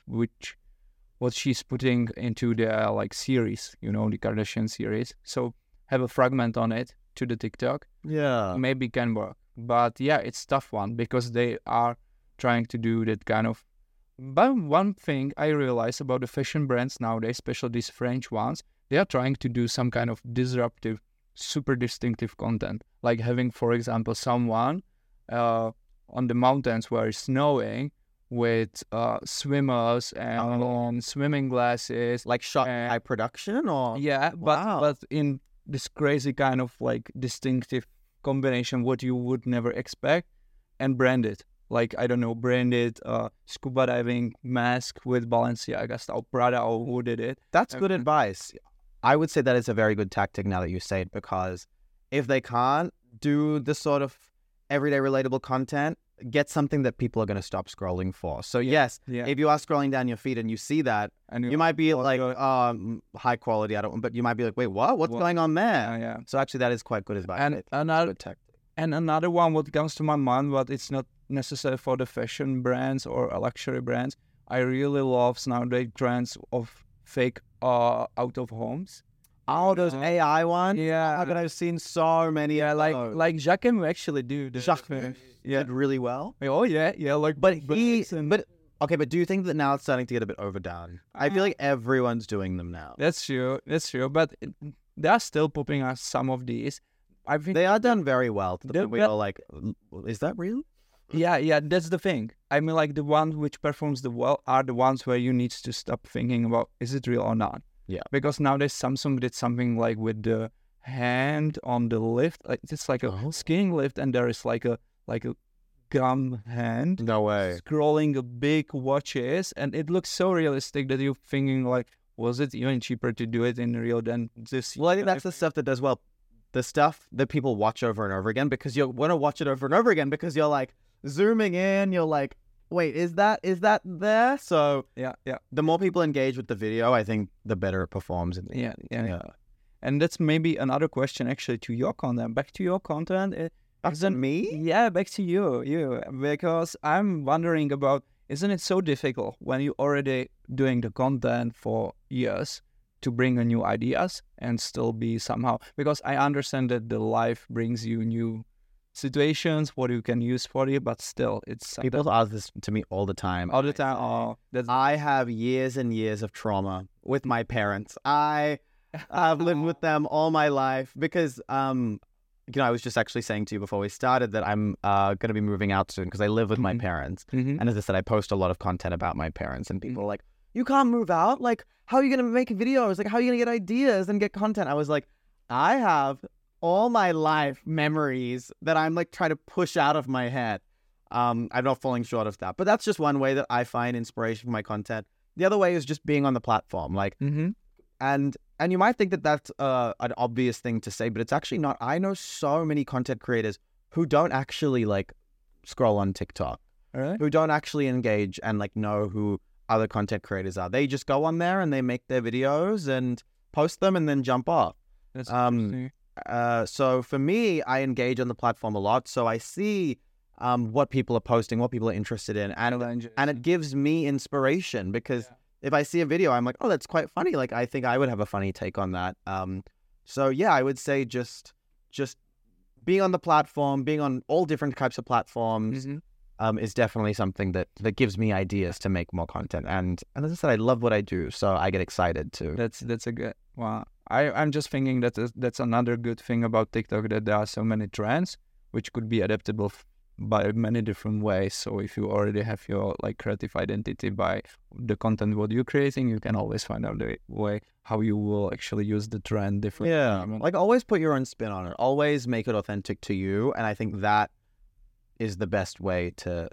what she's putting into the like series, the Kardashian series. So have a fragment on it to the TikTok. Yeah. Maybe can work. But yeah, it's tough one because they are trying to do that kind of. But one thing I realize about the fashion brands nowadays, especially these French ones, they are trying to do some kind of disruptive, super distinctive content. Like having, for example, someone on the mountains where it's snowing with swimmers and swimming glasses. Like shot And- by production or Yeah, Wow. but in this crazy kind of like distinctive combination, what you would never expect, and branded. Like, I don't know, branded scuba diving mask with Balenciaga style, Prada, or who did it. That's good Okay. advice. I would say that is a very good tactic now that you say it, because if they can't do the sort of everyday relatable content, get something that people are going to stop scrolling for. So yes, Yeah. if you are scrolling down your feed and you see that, And you might be like, go- high quality, I don't, but you might be like, wait, what? What's What? going on there? yeah. So actually that is quite good advice. And It's another good tactic. And another one, what comes to my mind, but it's not necessary for the fashion brands or luxury brands. I really love nowadays trends of fake out of homes. Oh, those AI ones? Yeah. Oh my God, I've seen so many. Yeah, of like those. like Jacquemus actually do. Jacquemus did really well. Oh yeah, like But he, and but okay, but do you think that now it's starting to get a bit overdone? I feel like everyone's doing them now. that's true. But they are still popping out some of these. I think They are done very well. To the They're point where ve- you're like, is that real? yeah, that's the thing. I mean, like the ones which performs the well are the ones where you need to stop thinking about is it real or not. Yeah. Because nowadays Samsung did something like with the hand on the lift, like it's like a Oh. skiing lift, and there is like a gum hand No way. scrolling a big watches, and it looks so realistic that you're thinking like, was it even cheaper to do it in real than this? Well, I think that's the stuff that does well. The stuff that people watch over and over again, because you want to watch it over and over again, because you're like zooming in, you're like, wait, is that there? So yeah. the more people engage with the video, I think the better it performs. In the Yeah. And that's maybe another question actually to your content. Back to your content. Isn't me? Yeah, back to you. Because I'm wondering about, isn't it so difficult when you're already doing the content for years to bring a new ideas and still be somehow, because I understand that the life brings you new situations, what you can use for it, but still it's People ask this to me all the time. all the time. Oh, that's I have years and years of trauma with my parents. I've lived with them all my life because, I was just actually saying to you before we started that I'm going to be moving out soon because I live with my Mhm. parents. Mhm. And as I said, I post a lot of content about my parents, and people are like, you can't move out? Like, how are you going to make videos? Like, how are you going to get ideas and get content? I was like, I have all my life memories that I'm like trying to push out of my head. I'm not falling short of that. But that's just one way that I find inspiration for my content. The other way is just being on the platform. Like, Mhm. and you might think that that's an obvious thing to say, but it's actually not. I know so many content creators who don't actually like scroll on TikTok, All right. who don't actually engage and like know who other content creators are. They just go on there and they make their videos and post them and then jump off. That's Um, interesting. So for me, I engage on the platform a lot. So I see what people are posting, what people are interested in, and it gives me inspiration because if I see a video, I'm like, oh, that's quite funny. Like, I think I would have a funny take on that. So yeah, I would say just being on the platform, being on all different types of platforms, Mhm. is definitely something that gives me ideas to make more content. And as I said, I love what I do, so I get excited too. That's a good. Wow. I'm just thinking that that's another good thing about TikTok, that there are so many trends which could be adaptable by many different ways. So if you already have your like creative identity by the content what you're creating, you can always find out the way how you will actually use the trend differently. Yeah, Even- like always put your own spin on it. Always make it authentic to you, and I think that is the best way to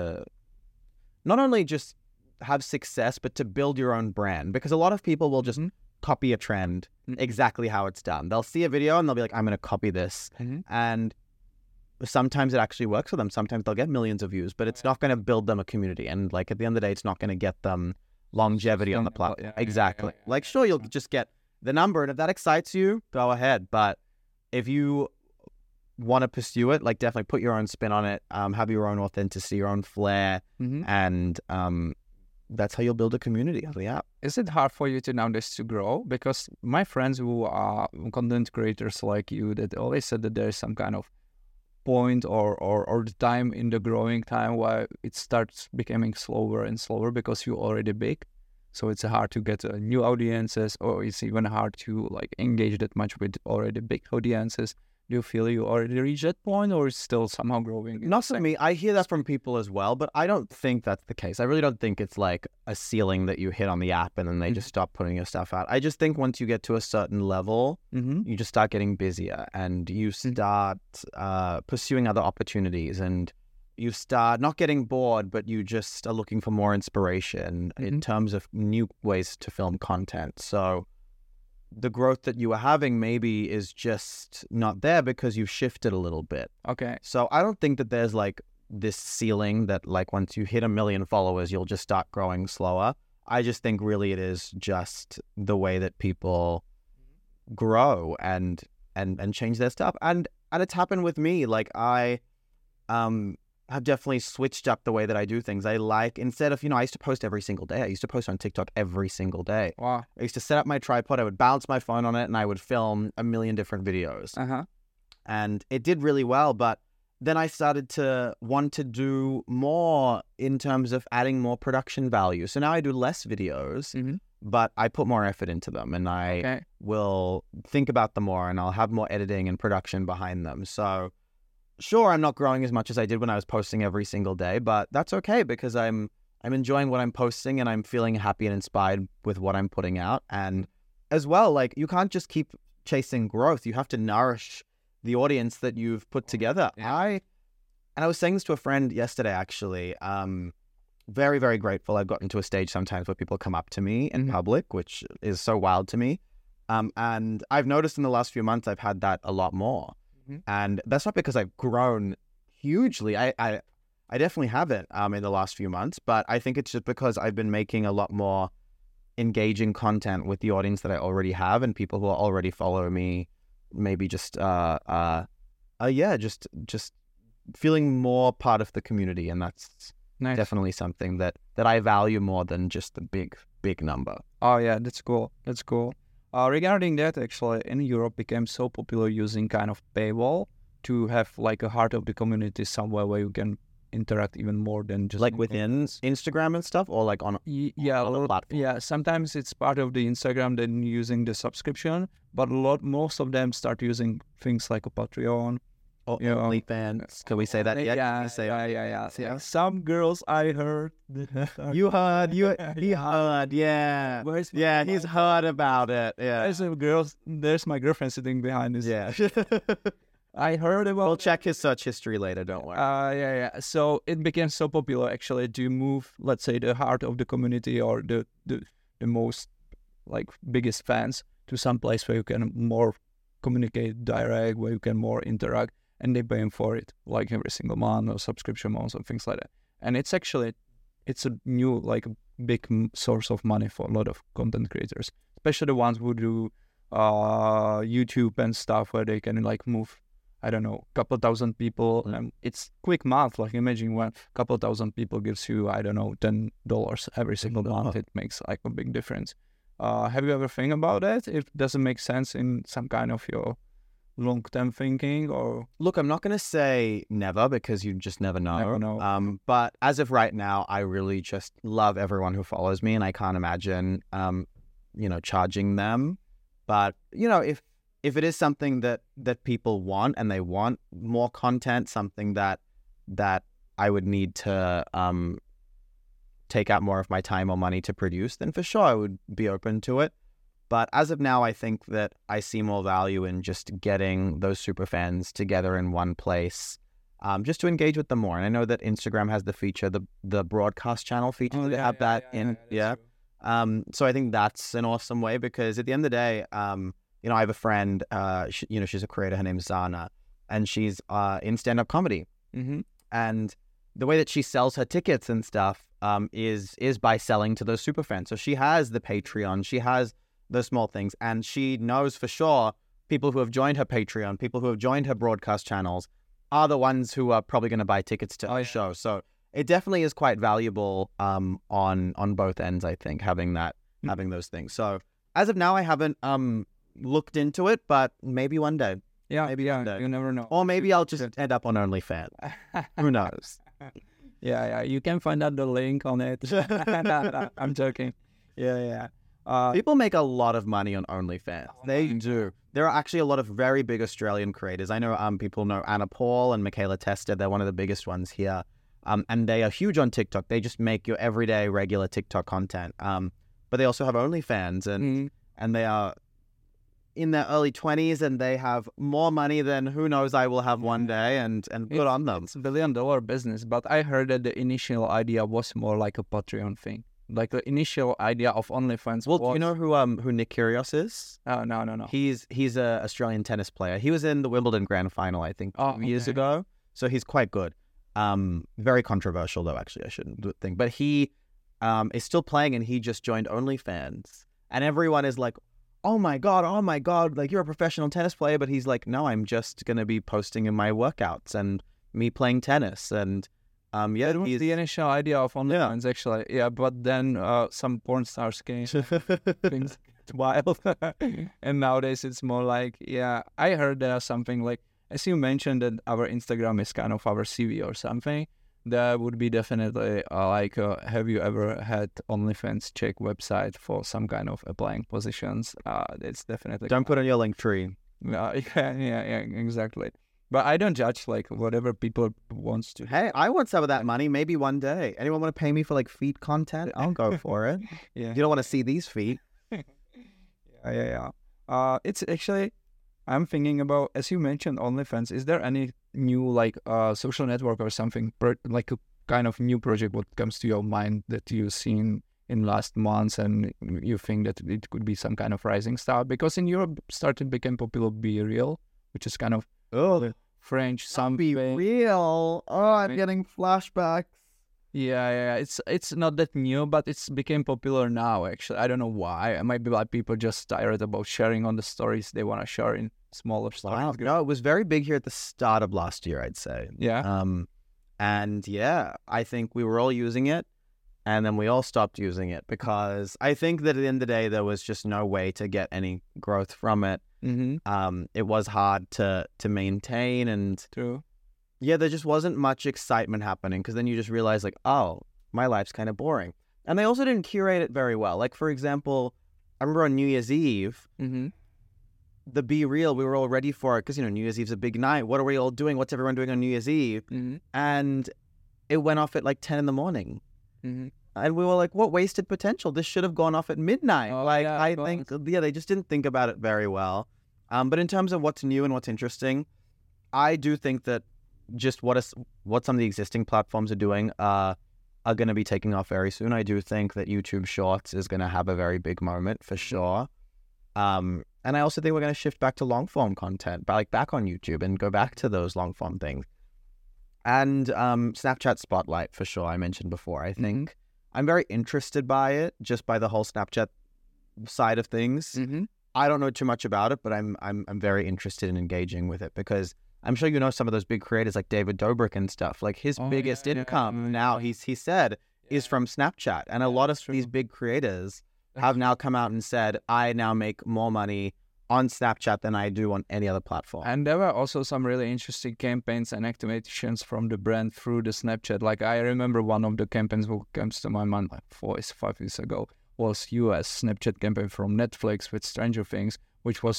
not only just have success, but to build your own brand. Because a lot of people will just Mhm. copy a trend Mhm. exactly how it's done. They'll see a video and they'll be like, "I'm going to copy this," Mhm. and sometimes it actually works for them. Sometimes they'll get millions of views, but it's not going to build them a community. And like at the end of the day, it's not going to get them longevity on the Sustainable, platform. yeah, Exactly. yeah, Like sure, you'll yeah. just get the number, and if that excites you, go ahead. But if you want to pursue it, like definitely put your own spin on it. Have your own authenticity, your own flair, Mhm. and that's how you'll build a community on the app. Is it hard for you to nowadays to grow? Because my friends who are content creators like you, that always said that there is some kind of point or the time in the growing time where it starts becoming slower and slower because you're already big. So it's hard to get new audiences, or it's even hard to like engage that much with already big audiences. Do you feel you already reached that point, or it's still somehow growing? Not for me. I hear that from people as well, but I don't think that's the case. I really don't think it's like a ceiling that you hit on the app and then they just stop putting your stuff out. I just think once you get to a certain level, you just start getting busier and you start pursuing other opportunities, and you start not getting bored, but you just are looking for more inspiration in terms of new ways to film content. So the growth that you were having maybe is just not there because you've shifted a little bit. Okay. So I don't think that there's like this ceiling that like once you hit 1 million followers, you'll just start growing slower. I just think really it is just the way that people grow and change their stuff. And it's happened with me. Like I have definitely switched up the way that I do things. I like, instead of, I used to post every single day. I used to post on TikTok every single day. Wow. I used to set up my tripod. I would balance my phone on it and I would film 1 million different videos. And it did really well. But then I started to want to do more in terms of adding more production value. So now I do less videos, but I put more effort into them, and I will think about them more, and I'll have more editing and production behind them. So sure, I'm not growing as much as I did when I was posting every single day, but that's okay because I'm enjoying what I'm posting and I'm feeling happy and inspired with what I'm putting out. And as well, like, you can't just keep chasing growth. You have to nourish the audience that you've put together. I was saying this to a friend yesterday, actually. Very, very grateful. I've gotten to a stage sometimes where people come up to me in public, which is so wild to me. And I've noticed in the last few months, I've had that a lot more. And that's not because I've grown hugely. I definitely haven't in the last few months, but I think it's just because I've been making a lot more engaging content with the audience that I already have, and people who are already following me, maybe just just feeling more part of the community. And that's definitely something that I value more than just the big number. Oh yeah, that's cool. That's cool. Regarding that, actually, in Europe became so popular using kind of paywall to have like a heart of the community somewhere where you can interact even more than just like within Instagram and stuff, or like on a platform. Yeah, sometimes it's part of the Instagram, then using the subscription, but most of them start using things like a Patreon. Or OnlyFans. Can we say that yet? Yeah. Some girls I heard. He heard, yeah. He's heard about it. Yeah. There's my girlfriend sitting behind us. Yeah. I heard about. We'll check his search history later, don't worry. Yeah. So it became so popular actually to move, let's say, the heart of the community or the most like biggest fans to some place where you can more communicate direct, where you can more interact. And they paying for it like every single month or subscription months and things like that. And it's a new like big source of money for a lot of content creators, especially the ones who do YouTube and stuff where they can like move, I don't know, couple thousand people. And it's quick math. Like imagine when couple thousand people gives you, I don't know, $10 every single month. It makes like a big difference. Have you ever think about that? If it doesn't make sense in some kind of your long-term thinking, or look, I'm not going to say never because you just never know. But as of right now, I really just love everyone who follows me, and I can't imagine, charging them. But if it is something that people want and they want more content, something that I would need to take out more of my time or money to produce, then for sure I would be open to it. But as of now, I think that I see more value in just getting those super fans together in one place, just to engage with them more. And I know that Instagram has the feature, the broadcast channel feature. So I think that's an awesome way, because at the end of the day, I have a friend, she's a creator. Her name's Zana, and she's in stand-up comedy. And the way that she sells her tickets and stuff is by selling to those super fans. So she has the Patreon, she has those small things, and she knows for sure people who have joined her Patreon, people who have joined her broadcast channels are the ones who are probably going to buy tickets to the show. So it definitely is quite valuable on both ends, I think, having those things. So as of now, I haven't looked into it, but maybe one day. One day. You never know. Or maybe I'll just end up on OnlyFans. Who knows? Yeah. You can find out the link on it. I'm joking. Yeah. People make a lot of money on OnlyFans. They do. There are actually a lot of very big Australian creators. I know people know Anna Paul and Michaela Testa. They're one of the biggest ones here. And they are huge on TikTok. They just make your everyday regular TikTok content. But they also have OnlyFans and they are in their early 20s and they have more money than who knows I will have one day and good on them. It's $1 billion business, but I heard that the initial idea was more like a Patreon thing. Like the initial idea of OnlyFans. Well, do you know who Nick Kyrgios is? Oh, no. He's a Australian tennis player. He was in the Wimbledon Grand Final, I think, 2 years ago. So he's quite good. Very controversial, though. Actually, I shouldn't think. But he is still playing, and he just joined OnlyFans, and everyone is like, "Oh my god! Like you're a professional tennis player." But he's like, "No, I'm just gonna be posting in my workouts and me playing tennis and." That was the initial idea of OnlyFans, actually. Yeah, but then some porn stars came. Things get wild. And nowadays it's more like, I heard there's something like, as you mentioned, that our Instagram is kind of our CV or something. That would be definitely have you ever had OnlyFans check website for some kind of applying positions? It's definitely... Don't put on your link tree. Yeah, exactly. But I don't judge like whatever people wants to. Hey, I want some of that money. Maybe one day. Anyone want to pay me for like feet content? I'll go for it. Yeah. You don't want to see these feet. Yeah. It's actually, I'm thinking about, as you mentioned, OnlyFans. Is there any new like social network or something like a kind of new project what comes to your mind that you've seen in last months and you think that it could be some kind of rising star? Because in Europe started became popular Be Real, which is kind of French something. Be Real. Oh, I'm getting flashbacks. Yeah. It's not that new, but it's became popular now. Actually, I don't know why. It might be like people just tired about sharing on the stories they want to share in smaller stories. Wow. No, it was very big here at the start of last year, I'd say. Yeah. And I think we were all using it, and then we all stopped using it because I think that at the end of the day there was just no way to get any growth from it. It was hard to maintain, and True. There just wasn't much excitement happening because then you just realize like, oh, my life's kind of boring. And they also didn't curate it very well. Like, for example, I remember on New Year's Eve, the Be Real, we were all ready for it because, New Year's Eve's a big night. What are we all doing? What's everyone doing on New Year's Eve? And it went off at like 10 in the morning. And we were like, what wasted potential? This should have gone off at midnight. I think, they just didn't think about it very well. But in terms of what's new and what's interesting, I do think that just what some of the existing platforms are doing are going to be taking off very soon. I do think that YouTube Shorts is going to have a very big moment for sure. And I also think we're going to shift back to long form content, back on YouTube and go back to those long form things. And Snapchat Spotlight for sure. I mentioned before. I think I'm very interested by it, just by the whole Snapchat side of things. I don't know too much about it, but I'm very interested in engaging with it because I'm sure you know some of those big creators like David Dobrik and stuff. Like his biggest income now, he said, is from Snapchat. And a lot of these big creators have now come out and said, I now make more money on Snapchat than I do on any other platform. And there were also some really interesting campaigns and activations from the brand through the Snapchat. Like I remember one of the campaigns that comes to my mind like 5 years ago was US Snapchat campaign from Netflix with Stranger Things, which was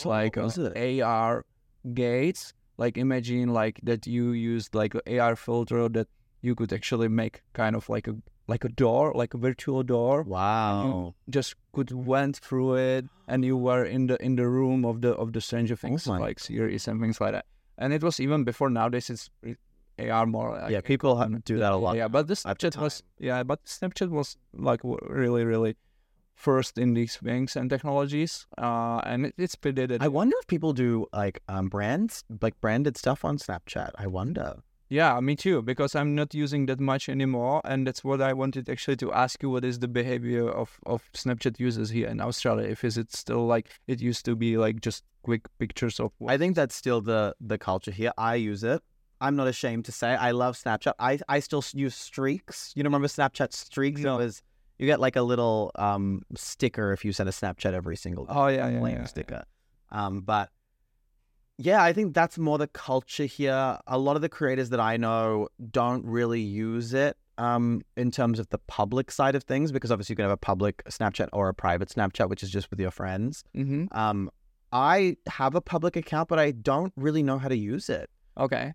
AR gates. Like imagine like that you used like an AR filter that you could actually make kind of like a door, like a virtual door. Wow! You just could went through it, and you were in the room of the Stranger Things like series and things like that. And it was even before. Nowadays it's AR more. Like, people do that a lot. Yeah, but the Snapchat was Snapchat was like really really first in these things and technologies, and it's predated. I wonder if people do like brands, like branded stuff on Snapchat. I wonder. Yeah, me too, because I'm not using that much anymore, and that's what I wanted actually to ask you. What is the behavior of Snapchat users here in Australia? If is it still like it used to be, like just quick pictures of I think that's still the culture here. I use it. I'm not ashamed to say I love Snapchat. I still use Streaks. You remember Snapchat Streaks? No. It was... You get like a little sticker if you send a Snapchat every single day. Oh, yeah. Sticker. But yeah, I think that's more the culture here. A lot of the creators that I know don't really use it. in terms of the public side of things, because obviously you can have a public Snapchat or a private Snapchat, which is just with your friends. Mm-hmm. I have a public account, but I don't really know how to use it. Okay.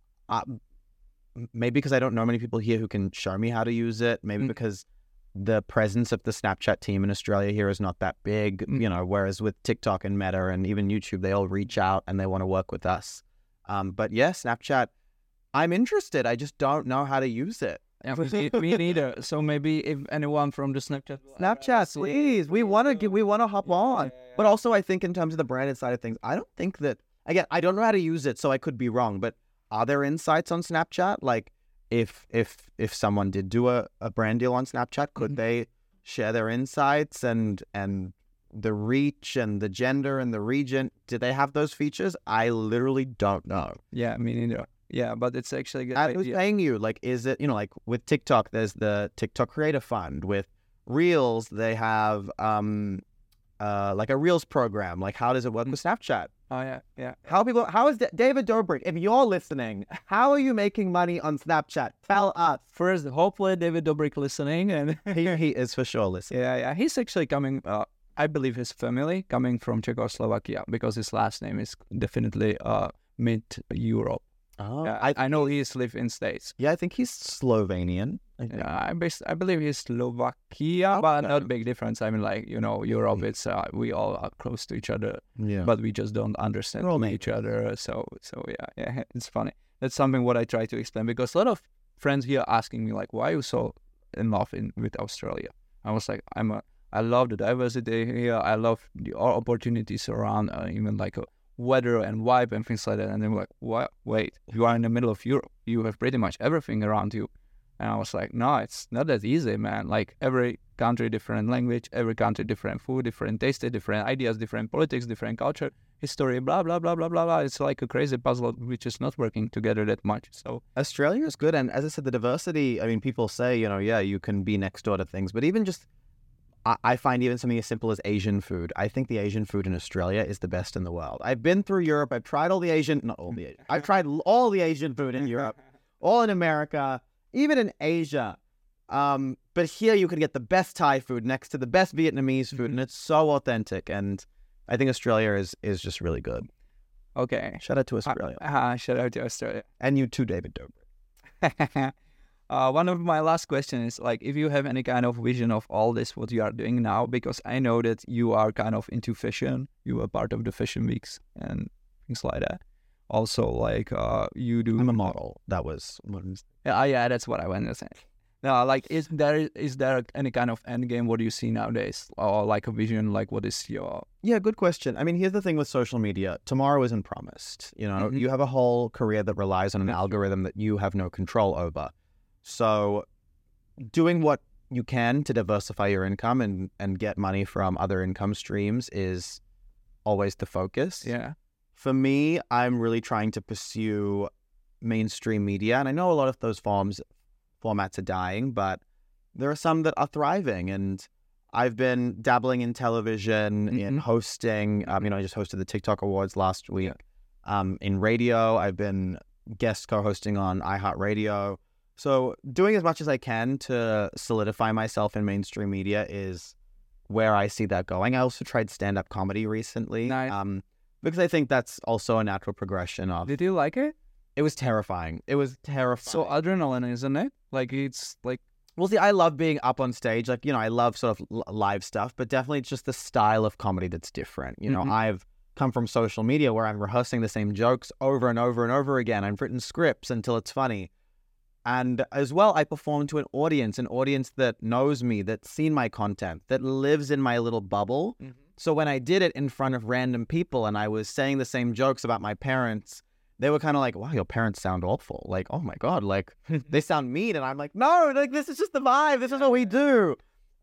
Maybe because I don't know many people here who can show me how to use it. Maybe because the presence of the Snapchat team in Australia here is not that big, you know, whereas with TikTok and Meta and even YouTube, they all reach out and they want to work with us. But yeah, Snapchat, I'm interested. I just don't know how to use it. Yeah, me neither. So maybe if anyone from the Snapchat, please, we want to hop on. But also, I think in terms of the branded side of things, I don't think that, again, I don't know how to use it, so I could be wrong. But are there insights on Snapchat? Like, if someone did do a brand deal on Snapchat, could they share their insights and the reach and the gender and the region? Do they have those features? I literally don't know. Yeah, me neither. Yeah, but it's actually good. And who's paying you? Like, is it, you know, like with TikTok, there's the TikTok Creator Fund. With Reels, they have like a Reels program. Like, how does it work with Snapchat? Oh, yeah. How is David Dobrik, if you're listening, how are you making money on Snapchat? Tell us. First, hopefully David Dobrik listening. And he is for sure listening. Yeah. He's actually coming, I believe his family coming from Czechoslovakia because his last name is definitely mid-Europe. Oh, yeah, I know he's lived in States. Yeah, I think he's Slovenian. I believe he's Slovakia, but not big difference. I mean, like, you know, Europe, it's we all are close to each other, but we just don't understand each other. So yeah, it's funny. That's something what I try to explain, because a lot of friends here asking me like, why are you so in love with Australia? I was like, I love the diversity here. I love the opportunities around, even like weather and vibe and things like that. And they were like, what? Wait, you are in the middle of Europe. You have pretty much everything around you. And I was like, no, it's not that easy, man. Like, every country, different language, every country, different food, different taste, different ideas, different politics, different culture, history, blah, blah, blah, blah, blah, blah. It's like a crazy puzzle which is not working together that much. So Australia is good. And as I said, the diversity, I mean, people say, you know, yeah, you can be next door to things, but even just, I find even something as simple as Asian food. I think the Asian food in Australia is the best in the world. I've been through Europe. I've tried I've tried all the Asian food in Europe, all in America, even in Asia. But here you can get the best Thai food next to the best Vietnamese food, and it's so authentic. And I think Australia is just really good. Okay. Shout out to Australia. Shout out to Australia. And you too, David Dobrik. One of my last questions is, like, if you have any kind of vision of all this, what you are doing now, because I know that you are kind of into fashion. You are part of the fashion weeks and things like that. Also, like, you do. I'm a model. That was what. Yeah, that's what I want to say. Now, like, is there any kind of end game? What do you see nowadays, or like a vision? Like, what is your? Yeah, good question. I mean, here's the thing with social media: tomorrow isn't promised. You know, you have a whole career that relies on an algorithm that you have no control over. So doing what you can to diversify your income and get money from other income streams is always the focus. Yeah. For me, I'm really trying to pursue mainstream media. And I know a lot of those formats are dying, but there are some that are thriving. And I've been dabbling in television, in hosting. You know, I just hosted the TikTok Awards last week. In radio, I've been guest co-hosting on iHeartRadio. So doing as much as I can to solidify myself in mainstream media is where I see that going. I also tried stand-up comedy recently. Nice. Because I think that's also a natural progression of... Did you like it? It was terrifying. It was terrifying. So adrenaline, isn't it? Like, it's like... Well, see, I love being up on stage. Like, you know, I love sort of live stuff, but definitely it's just the style of comedy that's different. You know, I've come from social media where I'm rehearsing the same jokes over and over and over again. I've written scripts until it's funny. And as well, I perform to an audience that knows me, that's seen my content, that lives in my little bubble. So when I did it in front of random people and I was saying the same jokes about my parents, they were kind of like, wow, your parents sound awful. Like, oh my God, like they sound mean. And I'm like, no, like this is just the vibe. This is what we do.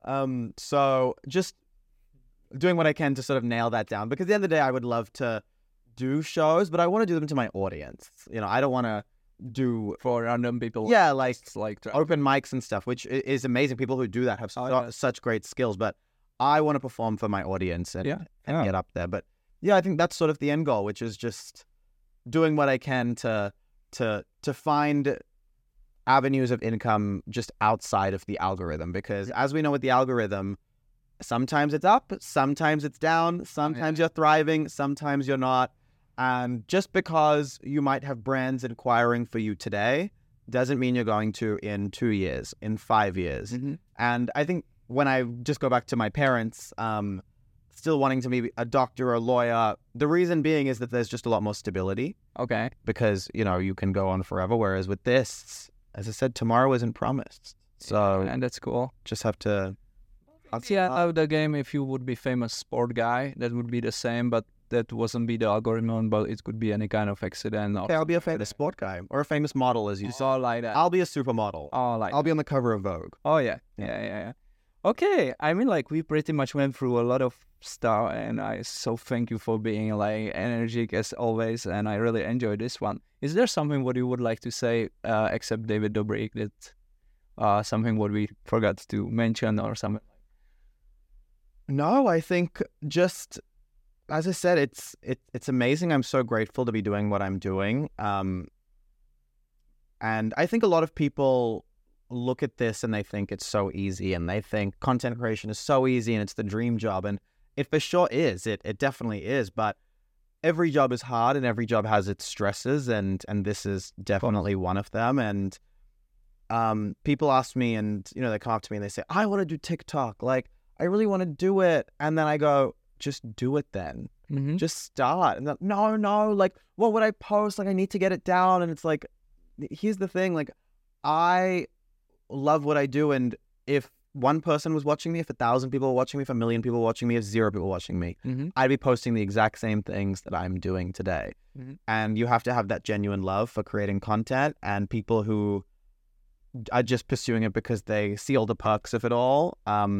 So just doing what I can to sort of nail that down, because at the end of the day, I would love to do shows, but I want to do them to my audience. You know, I don't want to do for random people. Yeah, like to... open mics and stuff, which is amazing. People who do that have such great skills, but I want to perform for my audience and get up there. But yeah, I think that's sort of the end goal, which is just doing what I can to find avenues of income just outside of the algorithm. Because as we know with the algorithm, sometimes it's up, sometimes it's down, sometimes you're thriving, sometimes you're not. And just because you might have brands inquiring for you today doesn't mean you're going to in 2 years, in 5 years. And I think when I just go back to my parents, still wanting to be a doctor or a lawyer, the reason being is that there's just a lot more stability. Okay. Because, you know, you can go on forever. Whereas with this, as I said, tomorrow isn't promised. So And that's cool. just have to... Yeah, out of the game, if you would be famous sport guy, that would be the same, but that wasn't be the algorithm, but it could be any kind of accident. Or Okay, I'll be a famous sport guy or a famous model, as you it's said. all like that. I'll be a supermodel. I'll be on the cover of Vogue. Oh, yeah. Yeah. Okay, I mean, like, we pretty much went through a lot of stuff, and I so thank you for being, like, energetic as always, and I really enjoyed this one. Is there something what you would like to say, except David Dobrik, that something what we forgot to mention or something? No, I think just, as I said, it's amazing. I'm so grateful to be doing what I'm doing. And I think a lot of people look at this and they think it's so easy, and they think content creation is so easy and it's the dream job. And it for sure is. It definitely is. But every job is hard and every job has its stresses, and this is definitely one of them. And people ask me, and, you know, they come up to me and they say, I want to do TikTok. Like, I really want to do it. And then I go, just do it then. Just start. And no, like, what would I post? Like, I need to get it down. And it's like, here's the thing. Like, I love what I do. And if one person was watching me, if 1,000 people were watching me, if 1,000,000 people were watching me, if 0 people were watching me, I'd be posting the exact same things that I'm doing today. And you have to have that genuine love for creating content, and people who are just pursuing it because they see all the perks of it all,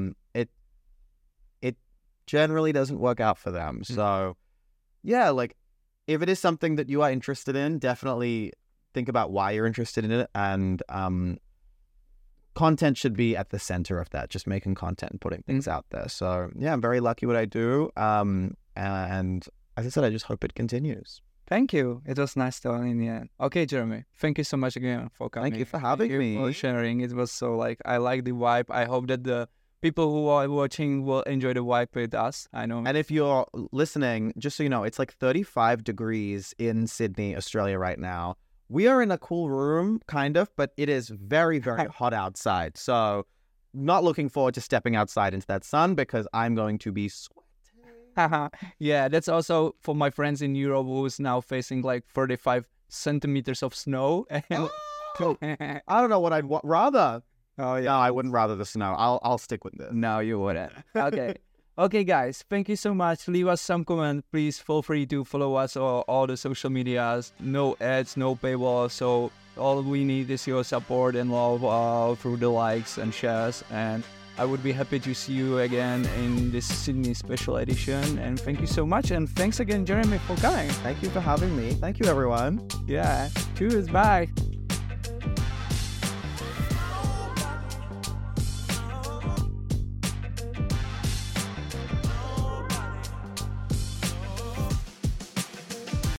it generally doesn't work out for them. So yeah, like, if it is something that you are interested in, definitely think about why you're interested in it. And content should be at the center of that, just making content and putting things out there. So yeah, I'm very lucky what I do. And as I said, I just hope it continues. Thank you. It was nice talking in the end. Okay, Jeremy, thank you so much again for coming. Thank you for having me. For sharing. It was so, like, I like the vibe. I hope that the people who are watching will enjoy the vibe with us. I know. And if you're listening, just so you know, it's like 35 degrees in Sydney, Australia right now. We are in a cool room, kind of, but it is very, very hot outside. So not looking forward to stepping outside into that sun, because I'm going to be sweating. Yeah, that's also for my friends in Europe who's now facing like 35 centimeters of snow. I don't know what I'd rather. Oh, yeah. No, I wouldn't rather the snow. I'll stick with this. No, you wouldn't. Okay. Okay, guys, thank you so much. Leave us some comment. Please feel free to follow us on all the social medias. No ads, no paywall. So all we need is your support and love through the likes and shares. And I would be happy to see you again in this Sydney special edition. And thank you so much. And thanks again, Jeremy, for coming. Thank you for having me. Thank you, everyone. Yeah. Cheers. Bye.